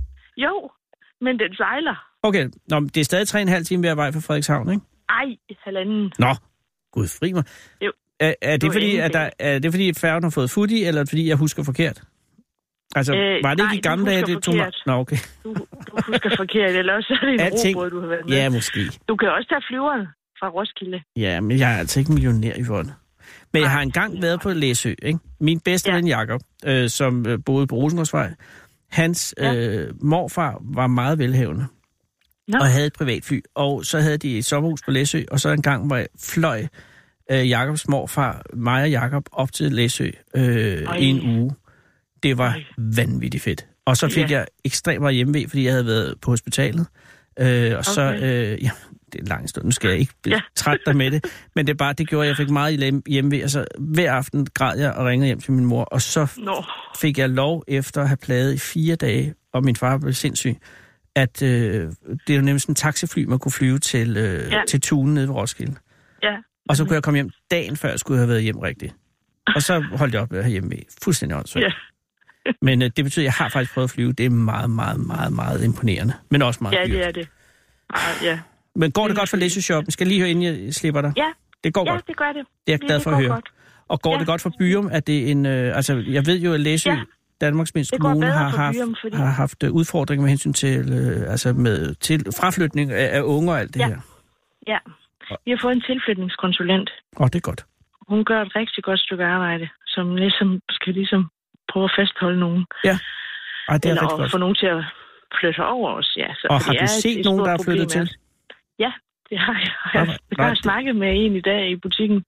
Jo, men den sejler. Okay, nå, det er stadig tre og en halv time ved at vej fra Frederikshavn, ikke? Ej, halvanden. Nå, gud fri mig. Jo. Er, er, det fordi, at der, er det fordi, færgen har fået fut i, eller fordi, jeg husker forkert? Altså, øh, var det ikke i gamle dage, det tog mig? Nå, okay. Du, du husker forkert, eller også er det en Alting... robåd, du har været med. Ja, måske. Du kan også tage flyveren fra Roskilde. Ja, men jeg er altså ikke millionær i Yvonne. Men jeg har engang været på Læsø, ikke? Min bedste ja. ven Jacob, øh, som øh, boede på Rosenborgsvej, hans ja. øh, morfar var meget velhavende. Nå. Og havde et privatfly. Og så havde de et sommerhus på Læsø, og så en gang, hvor jeg fløj øh, Jacobs morfar, mig og Jacob, op til Læsø øh, i en uge. Det var Ej. vanvittigt fedt. Og så fik ja. jeg ekstremt meget hjemmevæg, fordi jeg havde været på hospitalet. Øh, og okay. så, øh, ja, det er en lang stund, nu skal jeg ikke blive ja. træt dig med det, men det er bare, det gjorde, jeg fik meget hjemmevæg, og så hver aften græd jeg og ringede hjem til min mor, og så no. fik jeg lov efter at have plaget i fire dage, og min far blev sindssyg, at øh, det er jo nemlig sådan en taxifly, man kunne flyve til, øh, ja. til Tunen nede ved Roskilde. Ja. Og så kunne jeg komme hjem dagen før, jeg skulle have været hjem rigtigt. Og så holdt jeg op med at have hjemmevæg. Fuldstændig åndssvagt. Ja. Men øh, det betyder, at jeg har faktisk prøvet at flyve. Det er meget, meget, meget, meget imponerende. Men også meget ja, dyrt. Ja, det er det. Ah, ja. Men går det godt for Læsø-shoppen? Skal jeg lige høre, inden jeg slipper dig? Ja, det går ja, godt. det gør det. Det er jeg glad for at høre. Godt. Og går ja. det godt for Byrum? Er det en, øh, altså, jeg ved jo, at Læsø, ja. Danmarks mindste kommune har haft, byerne, fordi... har haft udfordringer med hensyn til, øh, altså med, til fraflytning af, af unge og alt det ja. her. Ja, vi har fået en tilflytningskonsulent. Åh, oh, det er godt. Hun gør et rigtig godt stykke arbejde, som ligesom skal ligesom prøve at fastholde nogen. Ja, Ej, det er eller rigtig godt. få nogen til at flytte over os. Ja, så, og har du set et, et nogen, der er flyttet til? Ja, det har jeg. Jeg, jeg, jeg har snakket med en i dag i butikken.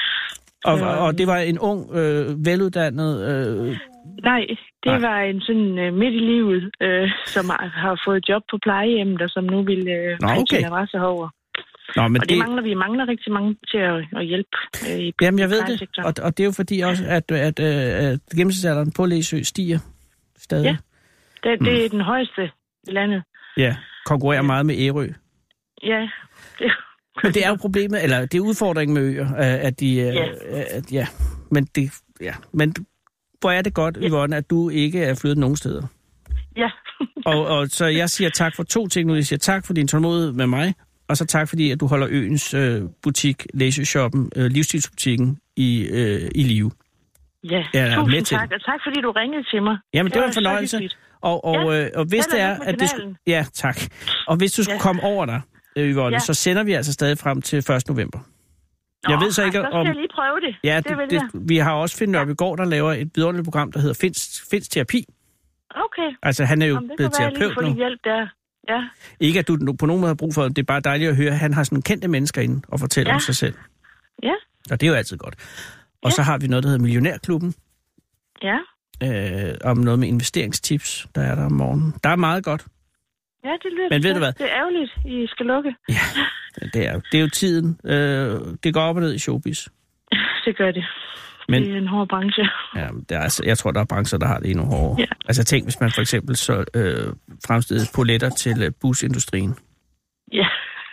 Og, og, og det var en ung, øh, veluddannet... Øh... Nej, det Nej. var en sådan øh, midt i livet, øh, som har, har fået job på plejehjemmet, og som nu vil øh, Nå, okay. sin adresse herover. Nå, men og det, det mangler vi mangler rigtig mange til at, at hjælpe øh, i Jamen, jeg ved det, og, og det er jo fordi også, at, at, at, at gennemsnitsalderen på Læsø stiger stadig. Ja, det, det mm. er den højeste i landet. Ja, konkurrerer ja. meget med Ærø. Ja, det Men det er jo problemet, eller det er udfordringen med øer, at de... Ja. At, ja, men det... Ja, men hvor er det godt, ja. Yvonne, at du ikke er flyttet nogen steder. Ja. og, og så jeg siger tak for to ting nu. Jeg siger tak for din tålmodighed med mig, og så tak fordi, at du holder øens øh, butik, Læsø-shoppen, øh, livsstilsbutikken i, øh, i live. Ja, ja tusind med tak, og tak fordi du ringede til mig. Jamen, det, det var en fornøjelse. Og, og, ja. øh, og hvis det er, at det skulle... Ja, tak. Og hvis du skulle ja. komme over dig, Yvonne, ja. så sender vi altså stadig frem til første november. Nå, jeg ved så ikke, så skal om... jeg lige prøve det. Ja, det, det, det, vi har også Finn Nørbegaard, der laver et vidunderligt program, der hedder Finns, Finns Terapi. Okay. Altså, han er jo Jamen, blevet terapeut nu. Hjælp der. Ja. Ikke, at du på nogen måde har brug for det. Det er bare dejligt at høre, at han har sådan kendte mennesker inde og fortæller ja. om sig selv. Ja. Og det er jo altid godt. Og ja. så har vi noget, der hedder Millionærklubben. Ja. Øh, om noget med investeringstips, der er der om morgenen. Der er meget godt. Ja, det lyder Men ved du hvad? Det er ærgerligt, I skal lukke. Ja, det er, det er jo tiden. Øh, det går op og ned i showbiz. Det gør det. Men, det er en hård branche. Ja, det er, altså, jeg tror, der er brancher, der har det endnu hårdere. Ja. Altså tænk, hvis man for eksempel så øh, fremstillede poletter til øh, busindustrien. Ja.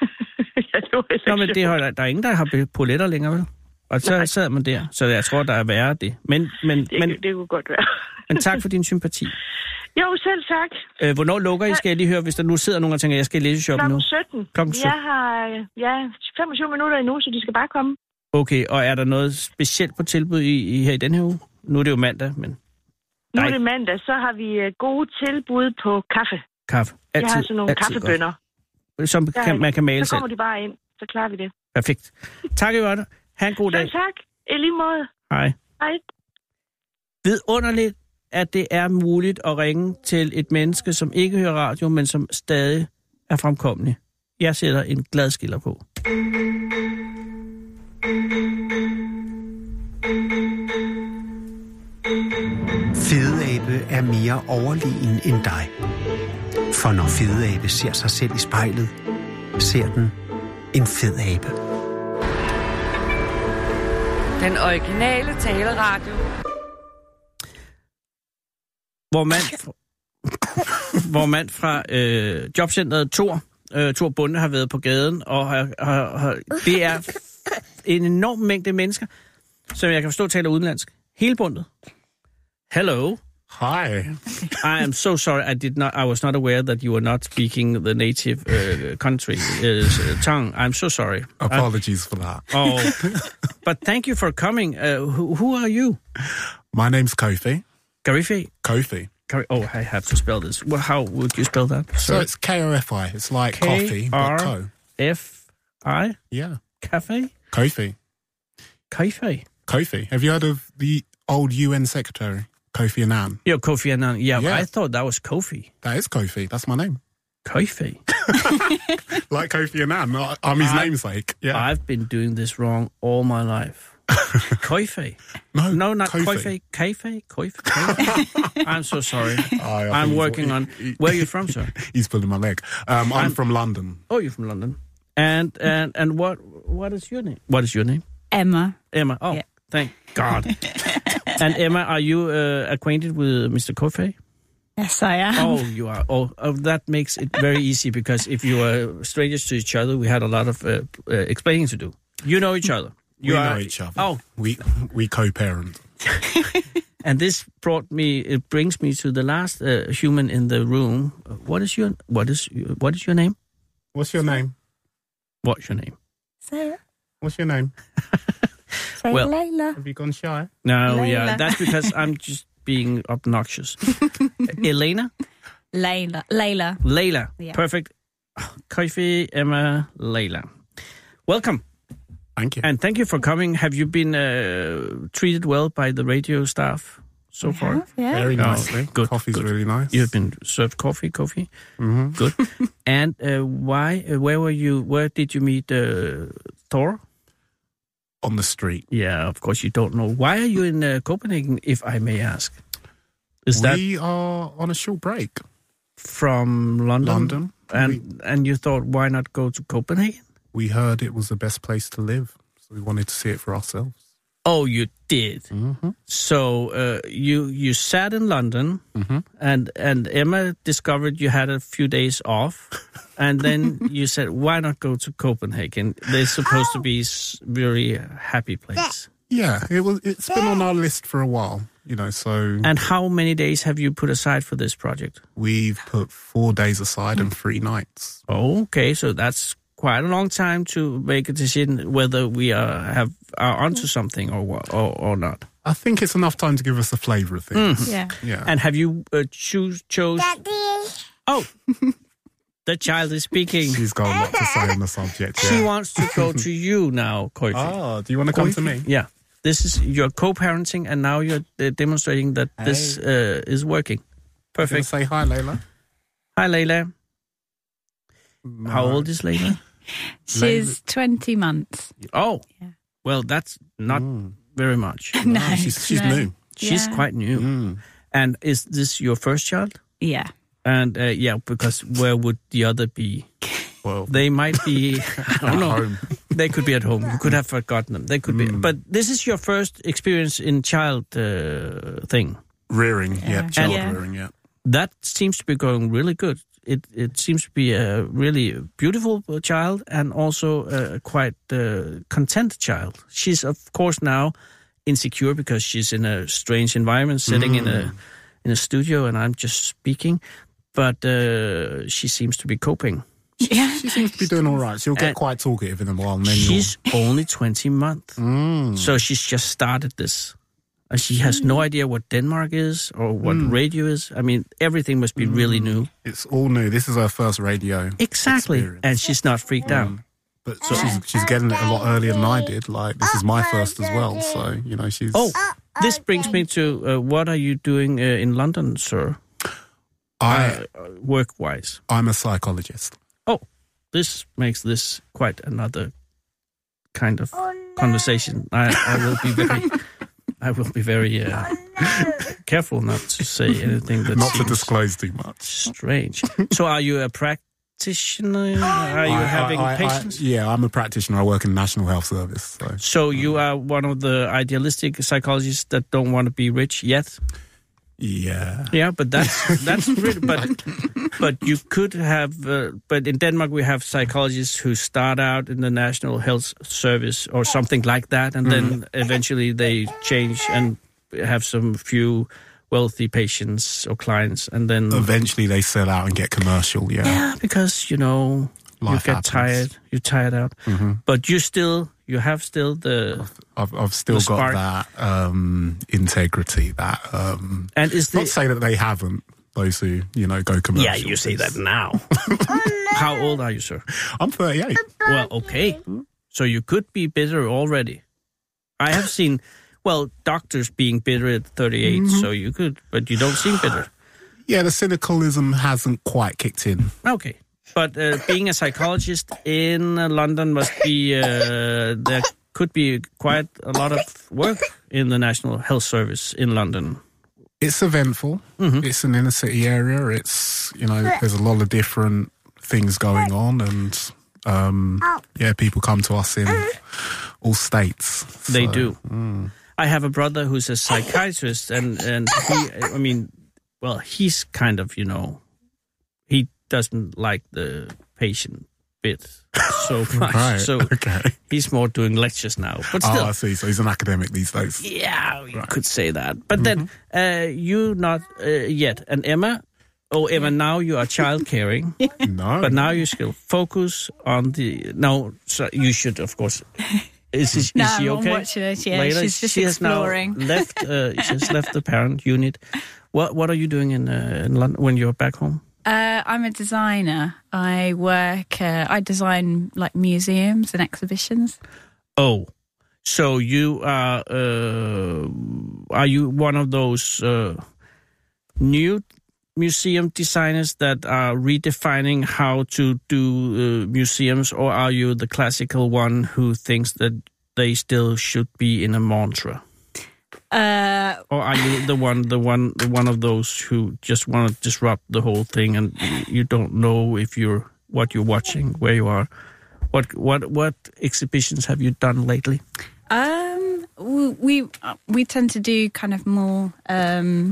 ja, det var Nå, men det har, der er ingen, der har poletter længere, vel? Og så Nej. sad man der. Så jeg tror, der er værre det. Men, men, det, men, det kunne godt være. Men tak for din sympati. Jo, selv tak. Øh, hvornår lukker I? Skal jeg lige høre, hvis der nu sidder nogen og tænker, jeg skal læse shoppen nu? klokken sytten. klokken sytten. Jeg har ja, femogtyve minutter endnu, så de skal bare komme. Okay, og er der noget specielt på tilbud i, i her i den her uge? Nu er det jo mandag, men... Nu er det mandag, så har vi gode tilbud på kaffe. Kaffe. Altid, jeg har sådan nogle kaffebønner. Godt. Som kan, man kan male Så kommer selv. De bare ind, så klarer vi det. Perfekt. Tak, Yvonne. Ha' en god dag. Så tak. I lige måde. Hej. Hej. Vidunderligt, at det er muligt at ringe til et menneske, som ikke hører radio, men som stadig er fremkommelig. Jeg sætter en glad skiller på. Fedeabe er mere overlegen end dig. For når fedeabe ser sig selv i spejlet, ser den en fed abe. Den originale taleradio. Hvor mand fra, hvor mand fra øh, jobcentret Thor, øh, Thor Bunde, har været på gaden, og har, har, har, det er en enorm mængde mennesker, som jeg kan forstå taler udenlandsk. Hele bundet. Hello. Hi. I am so sorry. I did not. I was not aware that you were not speaking the native uh, country uh, tongue. I'm so sorry. Apologies I'm, for that. Oh, but thank you for coming. Uh, who, who are you? My name's Kofi. Kofi. Kofi. Oh, I have to spell this. Well, how would you spell that? So Sorry. It's K O F I. It's like K coffee, but co. F I. Yeah. Cafe. Kofi. Kofi. Kofi. Have you heard of the old U N secretary? Kofi Annan. Yeah, Kofi Annan. Yeah, yeah, I thought that was Kofi. That is Kofi. That's my name. Kofi. Like Kofi Annan. I'm his I, namesake. Yeah. I've been doing this wrong all my life. Kofi. No, no, not Kofi. Kofi. Kofi. Kofi. I'm so sorry. I, I I'm working on... He, Where are you from, sir? He's pulling my leg. Um, I'm, I'm from London. Oh, you're from London. And and and what what is your name? What is your name? Emma. Emma. Oh, yeah. Thank God. And Emma, are you uh, acquainted with Mister Kofi? Yes, I am. Oh, you are. Oh, oh, that makes it very easy because if you are strangers to each other, we had a lot of uh, uh, explaining to do. You know each other. You we are, know each other. Oh, we we co-parent. And this brought me. It brings me to the last uh, human in the room. What is your what is what is your name? What's your name? What's your name? Sarah. What's your name? Say well, Layla. Have you gone shy? No, Layla. yeah, that's because I'm just being obnoxious. Elena? Layla. Layla. Layla. Yeah. Perfect. Koifi, Emma, Layla. Welcome. Thank you. And thank you for coming. Have you been uh, treated well by the radio staff so We far? have, yeah. Very Oh, nicely. good, Coffee's good. really nice. You've been served coffee, coffee. Mm-hmm. Good. And uh, why? Uh, where were you? Where did you meet uh, Thor? On the street. Yeah, of course you don't know. Why are you in uh, Copenhagen, if I may ask? Is that we are on a short break. from London? London. And We, and you thought, why not go to Copenhagen? we heard it was the best place to live, so we wanted to see it for ourselves. Oh, you did. Mm-hmm. So uh, you you sat in London, Mm-hmm. and and Emma discovered you had a few days off, and then you said, why not go to Copenhagen? They're supposed to be a very happy place. Yeah, it was. It's been on our list for a while, you know. So And how many days have you put aside for this project? we've put four days aside and three nights. Okay, so that's quite a long time to make a decision whether we are have are onto something or wha- or, or not. I think it's enough time to give us the flavour of things. Yeah. Yeah. And have you uh, choose chose? Oh, the child is speaking. She's got a lot to say on the subject. She Yeah. wants to go to you now, Koifi. Oh, do you want to come to me? Yeah, this is you're co-parenting, and now you're uh, demonstrating that this uh, is working. Gonna Perfect. say hi, Layla. Hi, Layla. How No. old is Layla? She's twenty months. Oh, Yeah. well, that's not Mm. very much. No, She's, she's no. new. She's Yeah. quite new. Mm. And is this your first child? Yeah. And uh, yeah, because where would the other be? Well, They might be, I don't know. home. They could be at home. You could have forgotten them. They could be. But this is your first experience in child uh, thing. Rearing, yeah, Yeah. child Yeah. rearing, yeah. That seems to be going really good. It it seems to be a really beautiful child and also a quite uh, content child. She's of course now insecure because she's in a strange environment, sitting in a in a studio, and I'm just speaking. But uh, she seems to be coping. Yeah. She seems to be doing all right. She'll get And quite talkative in a while. And then She's only twenty months, you'll... Mm. so she's just started this. And she has no idea what Denmark is or what radio is. I mean, everything must be really new. It's all new. This is her first radio Exactly. experience. And she's not freaked out. But she's, she's getting it a lot earlier than I did. Like, this is my first as well. So, you know, she's... Oh, this brings me to uh, what are you doing uh, in London, sir? I, Uh, work-wise. I'm a psychologist. Oh, this makes this quite another kind of conversation. I, I will be very, I will be very uh, careful not to say anything that Not to seems disclose too much. strange. So, are you a practitioner? Are you I- having I- I- patients? I, yeah, I'm a practitioner. I work in the National Health Service. So, So you are one of the idealistic psychologists that don't want to be rich yet? yeah. Yeah, but that's that's really, but but you could have. Uh, but in Denmark, we have psychologists who start out in the National Health Service or something like that, and then eventually they change and have some few wealthy patients or clients, and then Eventually they sell out and get commercial, yeah. yeah, because you know Life you get happens. tired, you're tired out, but you still you have still the I've, I've still The got spark. that um, integrity, that... Um, and is not the to say that they haven't, those who, you know, go commercial. yeah you say that now. How old are you, sir? I'm thirty-eight. Well, okay. So you could be bitter already. I have seen, well, doctors being bitter at thirty-eight, Mm-hmm. so you could, but you don't seem bitter. Yeah, the cynicalism hasn't quite kicked in. Okay. But uh, being a psychologist in uh, London must be, uh, there could be quite a lot of work in the National Health Service in London. It's eventful. Mm-hmm. It's an inner city area. It's, you know, there's a lot of different things going on, and um, yeah, people come to us in all states. They So, do. I have a brother who's a psychiatrist, and, and he, I mean, well, he's kind of, you know, he doesn't like the patient bit so much. Right. So okay. he's more doing lectures now. But still, Oh, I see. So he's an academic these days. yeah, you could say that. But then, uh, you not uh, yet. And Emma, oh, Emma, now you are child caring. No. But now you still focus on the... No, so you should, of course, Is, is, No, is she I'm okay? watching her. Yeah, Layla, she's just she exploring. Has now left. Uh, she has left the parent unit. What What are you doing in uh, in London when you're back home? Uh, I'm a designer. I work. Uh, I design like museums and exhibitions. Oh, so you are? Uh, are you one of those uh, new museum designers that are redefining how to do uh, museums, or are you the classical one who thinks that they still should be in a mantra? Uh, or are you the one, the one, the one of those who just want to disrupt the whole thing, and you don't know if you're what you're watching, where you are? What what what exhibitions have you done lately? Um, we we, we tend to do kind of more um,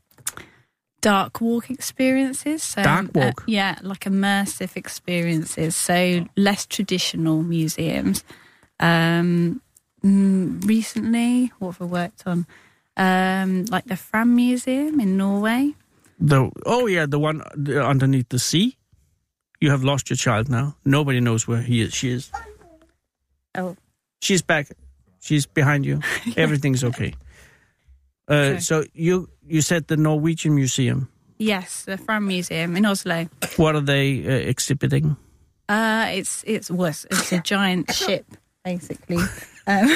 dark walk experiences. So, dark walk, uh, yeah, like immersive experiences. So less traditional museums. Um, recently, what have I worked on? Um, like the Fram Museum in Norway. The oh yeah, the one underneath the sea. You have lost your child now. Nobody knows where he is. She is. Oh. She's back. She's behind you. Yeah. Everything's okay. Uh, so you you said the Norwegian Museum. Yes, the Fram Museum in Oslo. What are they uh, exhibiting? Uh, it's it's worse. It's a giant ship, basically. Um,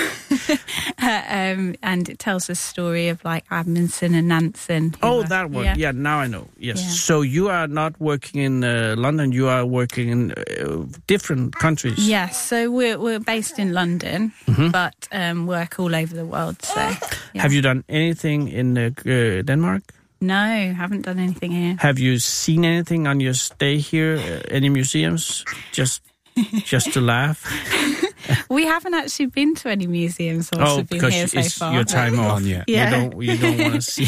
um, and it tells the story of like Amundsen and Nansen. Oh, were, that one. Yeah. yeah, now I know. Yes. Yeah. So you are not working in uh, London. You are working in uh, different countries. Yes. So we're we're based in London, mm-hmm. but um, work all over the world. So yeah. Have you done anything in uh, uh, Denmark? No, haven't done anything here. Have you seen anything on your stay here? Uh, any museums? Just just to laugh. We haven't actually been to any museums whilst oh, we've been here so it's far. your time off. Yeah. yeah. You don't, you don't want to see.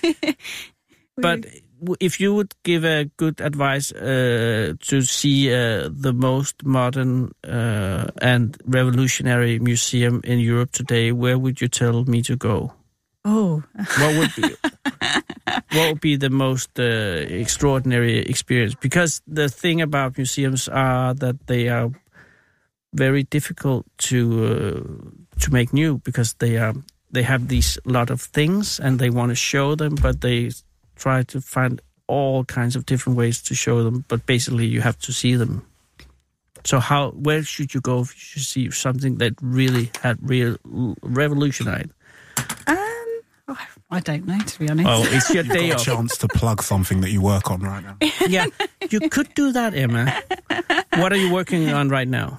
But if you would give a good advice uh, to see uh, the most modern uh, and revolutionary museum in Europe today, where would you tell me to go? Oh. What would be what would be the most uh, extraordinary experience? Because the thing about museums are that they are very difficult to uh, to make new, because they are they have these lot of things and they want to show them, but they try to find all kinds of different ways to show them. But basically, you have to see them. So, how where should you go if you should see something that really had real revolutionized? Um, oh, I don't know, to be honest. Oh, it's your You've day got off. a chance to plug something that you work on right now. Yeah, you could do that, Emma. What are you working on right now?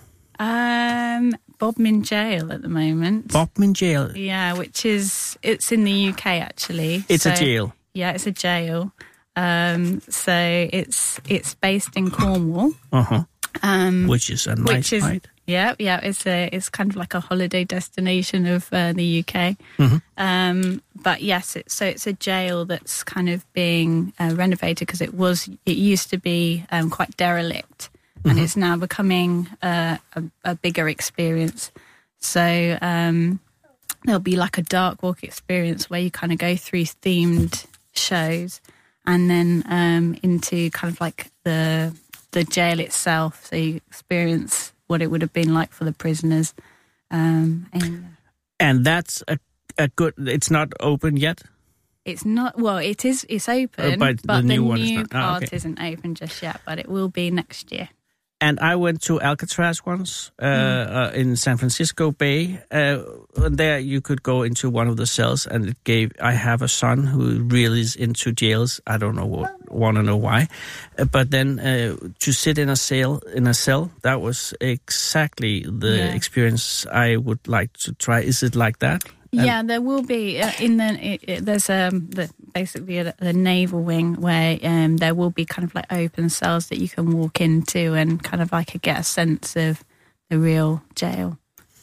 Um, Bodmin Jail at the moment. Bodmin Jail. Yeah, which is it's in the U K actually. It's so, a jail. Yeah, it's a jail. Um, so it's it's based in Cornwall. Uh huh. Um, which is a nice which is, height. Yeah, yeah. It's a it's kind of like a holiday destination of uh, the U K. Mm-hmm. Um, but yes, it's, so it's a jail that's kind of being uh, renovated, because it was it used to be um, quite derelict. And mm-hmm. it's now becoming uh, a, a bigger experience. So um, there'll be like a dark walk experience where you kind of go through themed shows, and then um, into kind of like the the jail itself. So you experience what it would have been like for the prisoners. Um, and, and that's a, a good... It's not open yet? It's not... Well, it is. It's open, uh, but, but the the new, new, one is not. part ah, okay. isn't open just yet, but it will be next year. And I went to Alcatraz once uh, mm. uh, in San Francisco Bay. Uh, and there you could go into one of the cells, and it gave... I have a son who really is into jails. I don't know what, want to know why. Uh, but then uh, to sit in a cell, in a cell, that was exactly the yeah. experience I would like to try. Is it like that? Yeah, and there will be uh, in the it, it, there's um the, basically a, the naval wing where um there will be kind of like open cells that you can walk into and kind of like get a sense of the real jail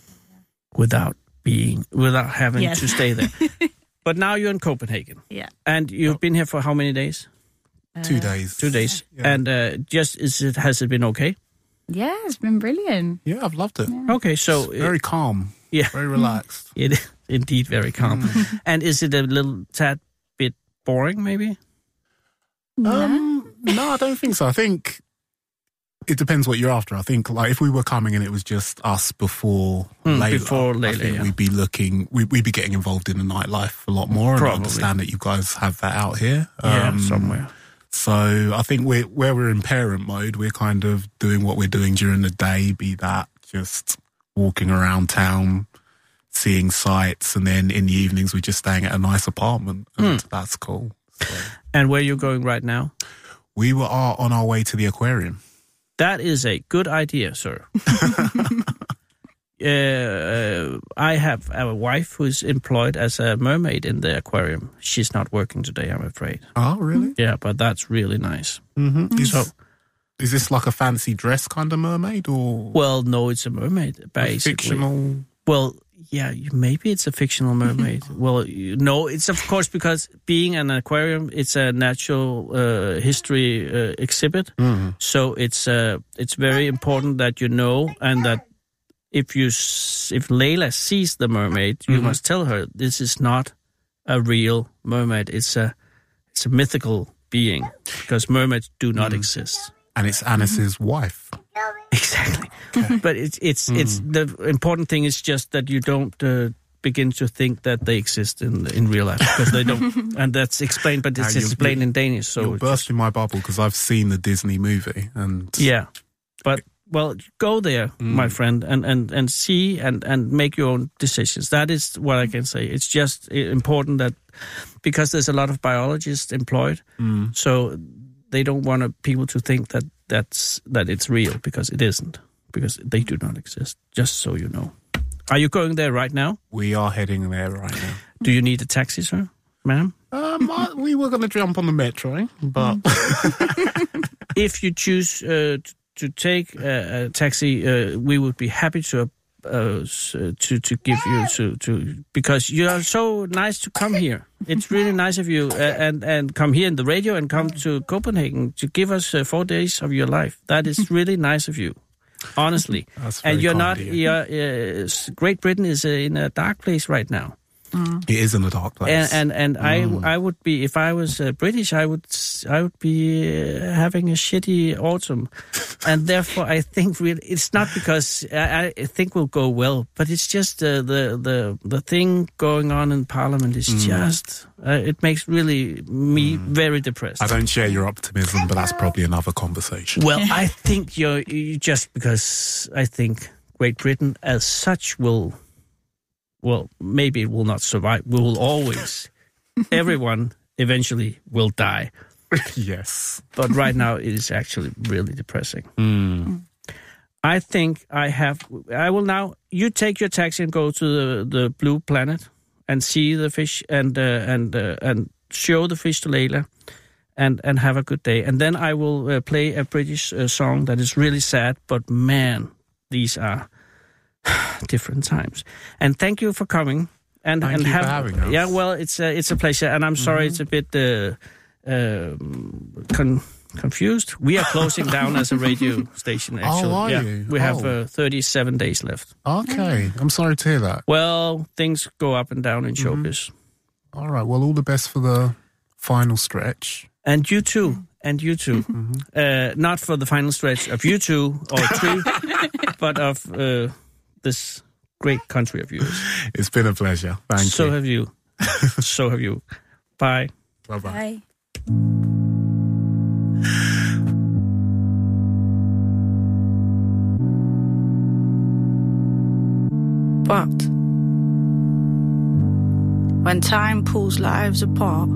without being without having yes. to stay there. But now you're in Copenhagen. Yeah, and you've been here for how many days? Uh, two days. Two days. Yeah. And uh, just is it has it been okay? Yeah, it's been brilliant. Yeah, I've loved it. Yeah. Okay, so it's very uh, calm. Yeah, very relaxed. It is indeed very calm. Mm. And is it a little tad bit boring, maybe? Um, no, I don't think so. I think it depends what you're after. I think, like, if we were coming and it was just us before mm, Layla, before Layla, I think yeah. we'd be looking, we, we'd be getting involved in the nightlife a lot more. Probably. And I understand that you guys have that out here. Yeah, um, somewhere. So I think we're, where we're in parent mode, we're kind of doing what we're doing during the day, be that just walking around town, seeing sights, and then in the evenings we're just staying at a nice apartment, and mm. that's cool. So. And where are you going right now? We were are on our way to the aquarium. That is a good idea, sir. uh, I have a wife who's employed as a mermaid in the aquarium. She's not working today, I'm afraid. Oh, really? Yeah, but that's really nice. Mm-hmm. Is, so, is this like a fancy dress kind of mermaid, or? Well, no, it's a mermaid, basically. Fictional? Well, yeah, maybe it's a fictional mermaid. Well, you know, it's of course because being an aquarium, it's a natural uh, history uh, exhibit. Mm-hmm. So it's uh, it's very important that you know, and that if you if Layla sees the mermaid, you mm-hmm. must tell her this is not a real mermaid. It's a it's a mythical being, because mermaids do not mm-hmm. exist. And it's Anis's mm-hmm. wife. Exactly. Okay. But it's it's mm. it's the important thing is just that you don't uh, begin to think that they exist in in real life, because they don't, and that's explained. But it's now, explained in Danish. So you're bursting my bubble, because I've seen the Disney movie, and yeah, but well, go there, mm. my friend, and, and, and see and, and make your own decisions. That is what I can say. It's just important that, because there's a lot of biologists employed, mm. so they don't want people to think that that's that it's real, because it isn't, because they do not exist, just so you know. Are you going there right now? We are heading there right now. Do you need a taxi, sir, ma'am? Um, I, we were going to jump on the metro, but... If you choose uh, to take a, a taxi, uh, we would be happy to uh, to to give you to, to because you are so nice to come here. It's really nice of you uh, and and come here in the radio and come to Copenhagen to give us uh, four days of your life. That is really nice of you, honestly. That's very and you're kind not. of you. You're, uh, Great Britain is uh, in a dark place right now. Mm. It is in a dark place, and and, and mm. I I would be, if I was uh, British, I would I would be uh, having a shitty autumn, and therefore I think really it's not because I, I think we'll go well, but it's just uh, the the the thing going on in Parliament is mm. just uh, it makes really me mm. very depressed. I don't share your optimism, but that's probably another conversation. Well, I think you're you just because I think Great Britain as such will. Well, maybe it will not survive. We will always, everyone eventually will die. Yes. But right now it is actually really depressing. Mm. I think I have, I will now, you take your taxi and go to the, the Blue Planet and see the fish and uh, and uh, and show the fish to Layla and, and have a good day. And then I will uh, play a British uh, song that is really sad, but man, these are... different times. And thank you for coming. And thank and you have, for having us. Yeah, well, it's a, it's a pleasure. And I'm sorry mm-hmm. it's a bit uh, uh, con- confused. We are closing down as a radio station, actually. Oh, are yeah. you? We oh. have uh, thirty-seven days left. Okay. I'm sorry to hear that. Well, things go up and down in mm-hmm. showbiz. All right. Well, all the best for the final stretch. And you too. And you too. Mm-hmm. Uh, not for the final stretch of you two or three, but of... Uh, this great country of yours. It's been a pleasure. Thank so you. So have you. So have you. Bye. Bye-bye. Bye. But when time pulls lives apart,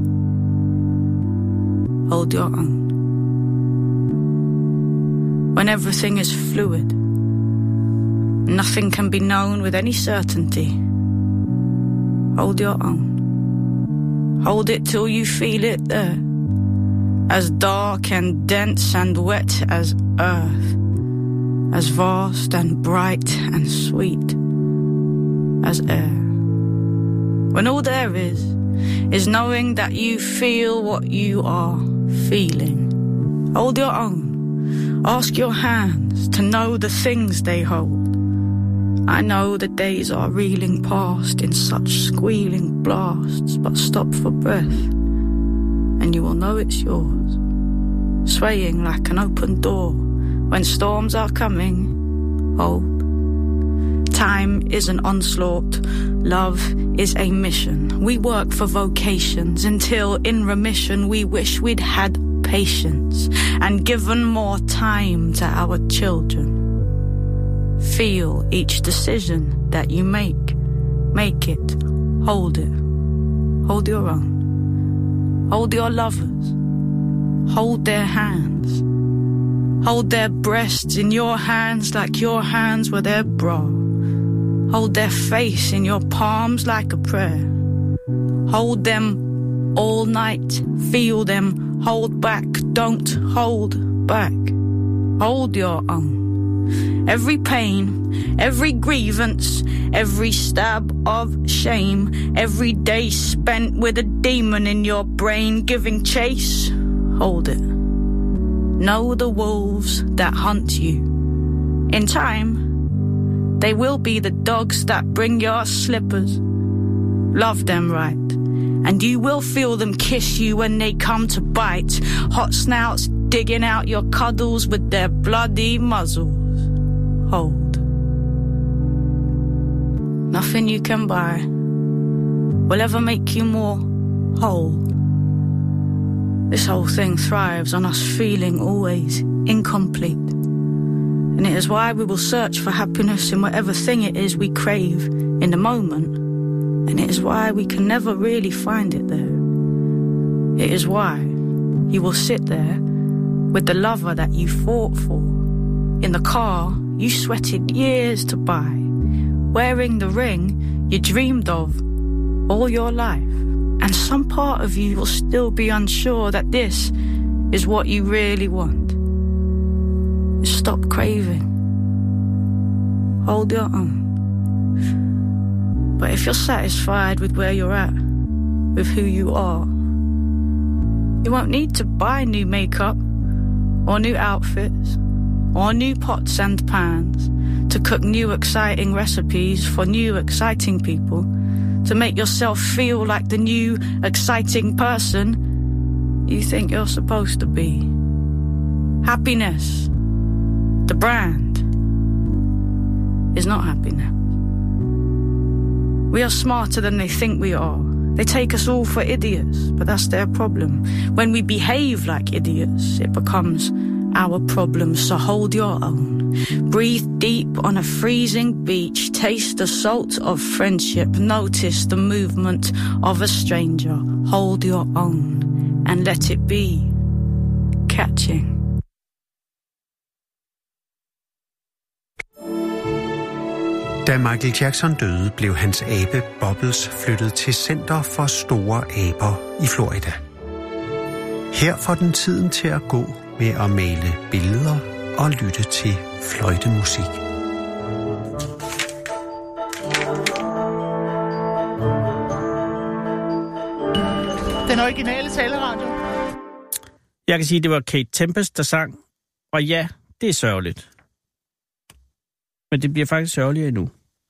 hold your own. When everything is fluid, nothing can be known with any certainty. Hold your own. Hold it till you feel it there. As dark and dense and wet as earth. As vast and bright and sweet as air. When all there is, is knowing that you feel what you are feeling. Hold your own. Ask your hands to know the things they hold. I know the days are reeling past in such squealing blasts, but stop for breath, and you will know it's yours, swaying like an open door when storms are coming, hold. Time is an onslaught, love is a mission. We work for vocations until in remission we wish we'd had patience and given more time to our children. Feel each decision that you make. Make it. Hold it. Hold your own. Hold your lovers. Hold their hands. Hold their breasts in your hands like your hands were their bra. Hold their face in your palms like a prayer. Hold them all night. Feel them. Hold back. Don't hold back. Hold your own. Every pain, every grievance, every stab of shame, every day spent with a demon in your brain giving chase, hold it. Know the wolves that hunt you. In time, they will be the dogs that bring your slippers. Love them right, and you will feel them kiss you when they come to bite. Hot snouts digging out your cuddles with their bloody muzzles. Hold. Nothing you can buy will ever make you more whole. This whole thing thrives on us feeling always incomplete. And it is why we will search for happiness in whatever thing it is we crave in the moment. And it is why we can never really find it there. It is why you will sit there with the lover that you fought for, in the car you sweated years to buy, wearing the ring you dreamed of all your life. And some part of you will still be unsure that this is what you really want. Stop craving. Hold your own. But if you're satisfied with where you're at, with who you are, you won't need to buy new makeup or new outfits or new pots and pans to cook new exciting recipes for new exciting people, to make yourself feel like the new exciting person you think you're supposed to be. Happiness, the brand, is not happiness. We are smarter than they think we are. They take us all for idiots, but that's their problem. When we behave like idiots, it becomes our problem. So hold your own. Breathe deep on a freezing beach. Taste the salt of friendship. Notice the movement of a stranger. Hold your own and let it be catching. Da Michael Jackson døde, blev hans abe Bubbles flyttet til Center for Store Aber i Florida. Her får den tiden til at gå med at male billeder og lytte til fløjtemusik. Den originale taleradio. Jeg kan sige, at det var Kate Tempest, der sang. Og ja, det er sørgeligt. Men det bliver faktisk sørgeligere endnu.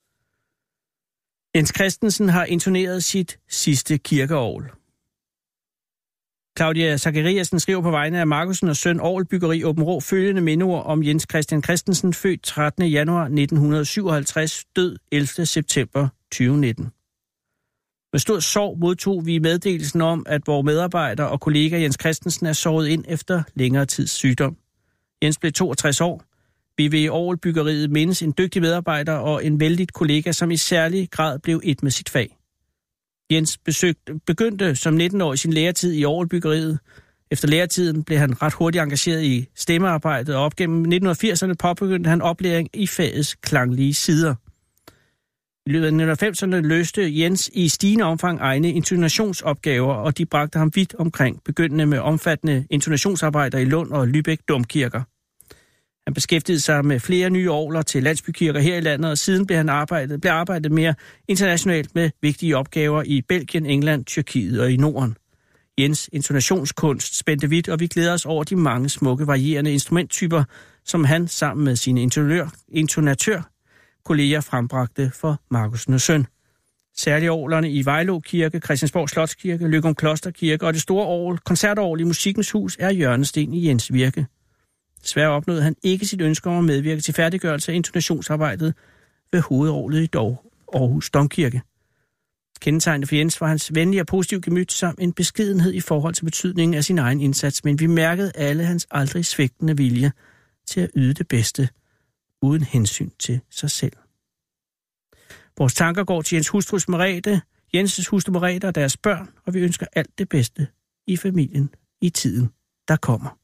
Jens Christensen har intoneret sit sidste kirkeorgel. Claudia Zachariasen skriver på vegne af Markusen og Søn Orgelbyggeri Åben Rå følgende mindeord om Jens Christian Christensen, født trettende januar nitten syvoghalvtreds, død ellevte september tyve nitten. Med stor sorg modtog vi meddelelsen om, at vores medarbejder og kollega Jens Christensen er såret ind efter længere tids sygdom. Jens blev toogtres år. Vi vil i Orgelbyggeriet mindes en dygtig medarbejder og en vældig kollega, som i særlig grad blev et med sit fag. Jens besøgte, begyndte som nitten-årig sin læretid i Orgelbyggeriet. Efter læretiden blev han ret hurtigt engageret i stemmearbejdet, og op gennem nitten firserne påbegyndte han oplæring i fagets klanglige sider. I løbet af nitten halvfemserne løste Jens i stigende omfang egne intonationsopgaver, og de bragte ham vidt omkring, begyndende med omfattende intonationsarbejder i Lund og Lübeck domkirker. Han beskæftigede sig med flere nye orgler til landsbykirker her i landet, og siden blev han arbejdet, blev arbejdet mere internationalt med vigtige opgaver i Belgien, England, Tyrkiet og i Norden. Jens' intonationskunst spændte vidt, og vi glæder os over de mange smukke, varierende instrumenttyper, som han sammen med sine intonatør-kolleger frembragte for Markusen og Søn. Særligt orglerne i Vejlå Kirke, Christiansborg Slotskirke, Løgum Klosterkirke og det store orgel, koncertorgel i Musikkens Hus er hjørnesten i Jens' virke. Desværre opnåede han ikke sit ønske om at medvirke til færdiggørelse af intonationsarbejdet ved hovedorglet i Aarhus Domkirke. Kendetegnende for Jens var hans venlige og positive gemyt samt en beskedenhed i forhold til betydningen af sin egen indsats, men vi mærkede alle hans aldrig svigtende vilje til at yde det bedste, uden hensyn til sig selv. Vores tanker går til Jens hustrus Merete, Jenses hustru Merete og deres børn, og vi ønsker alt det bedste i familien i tiden, der kommer.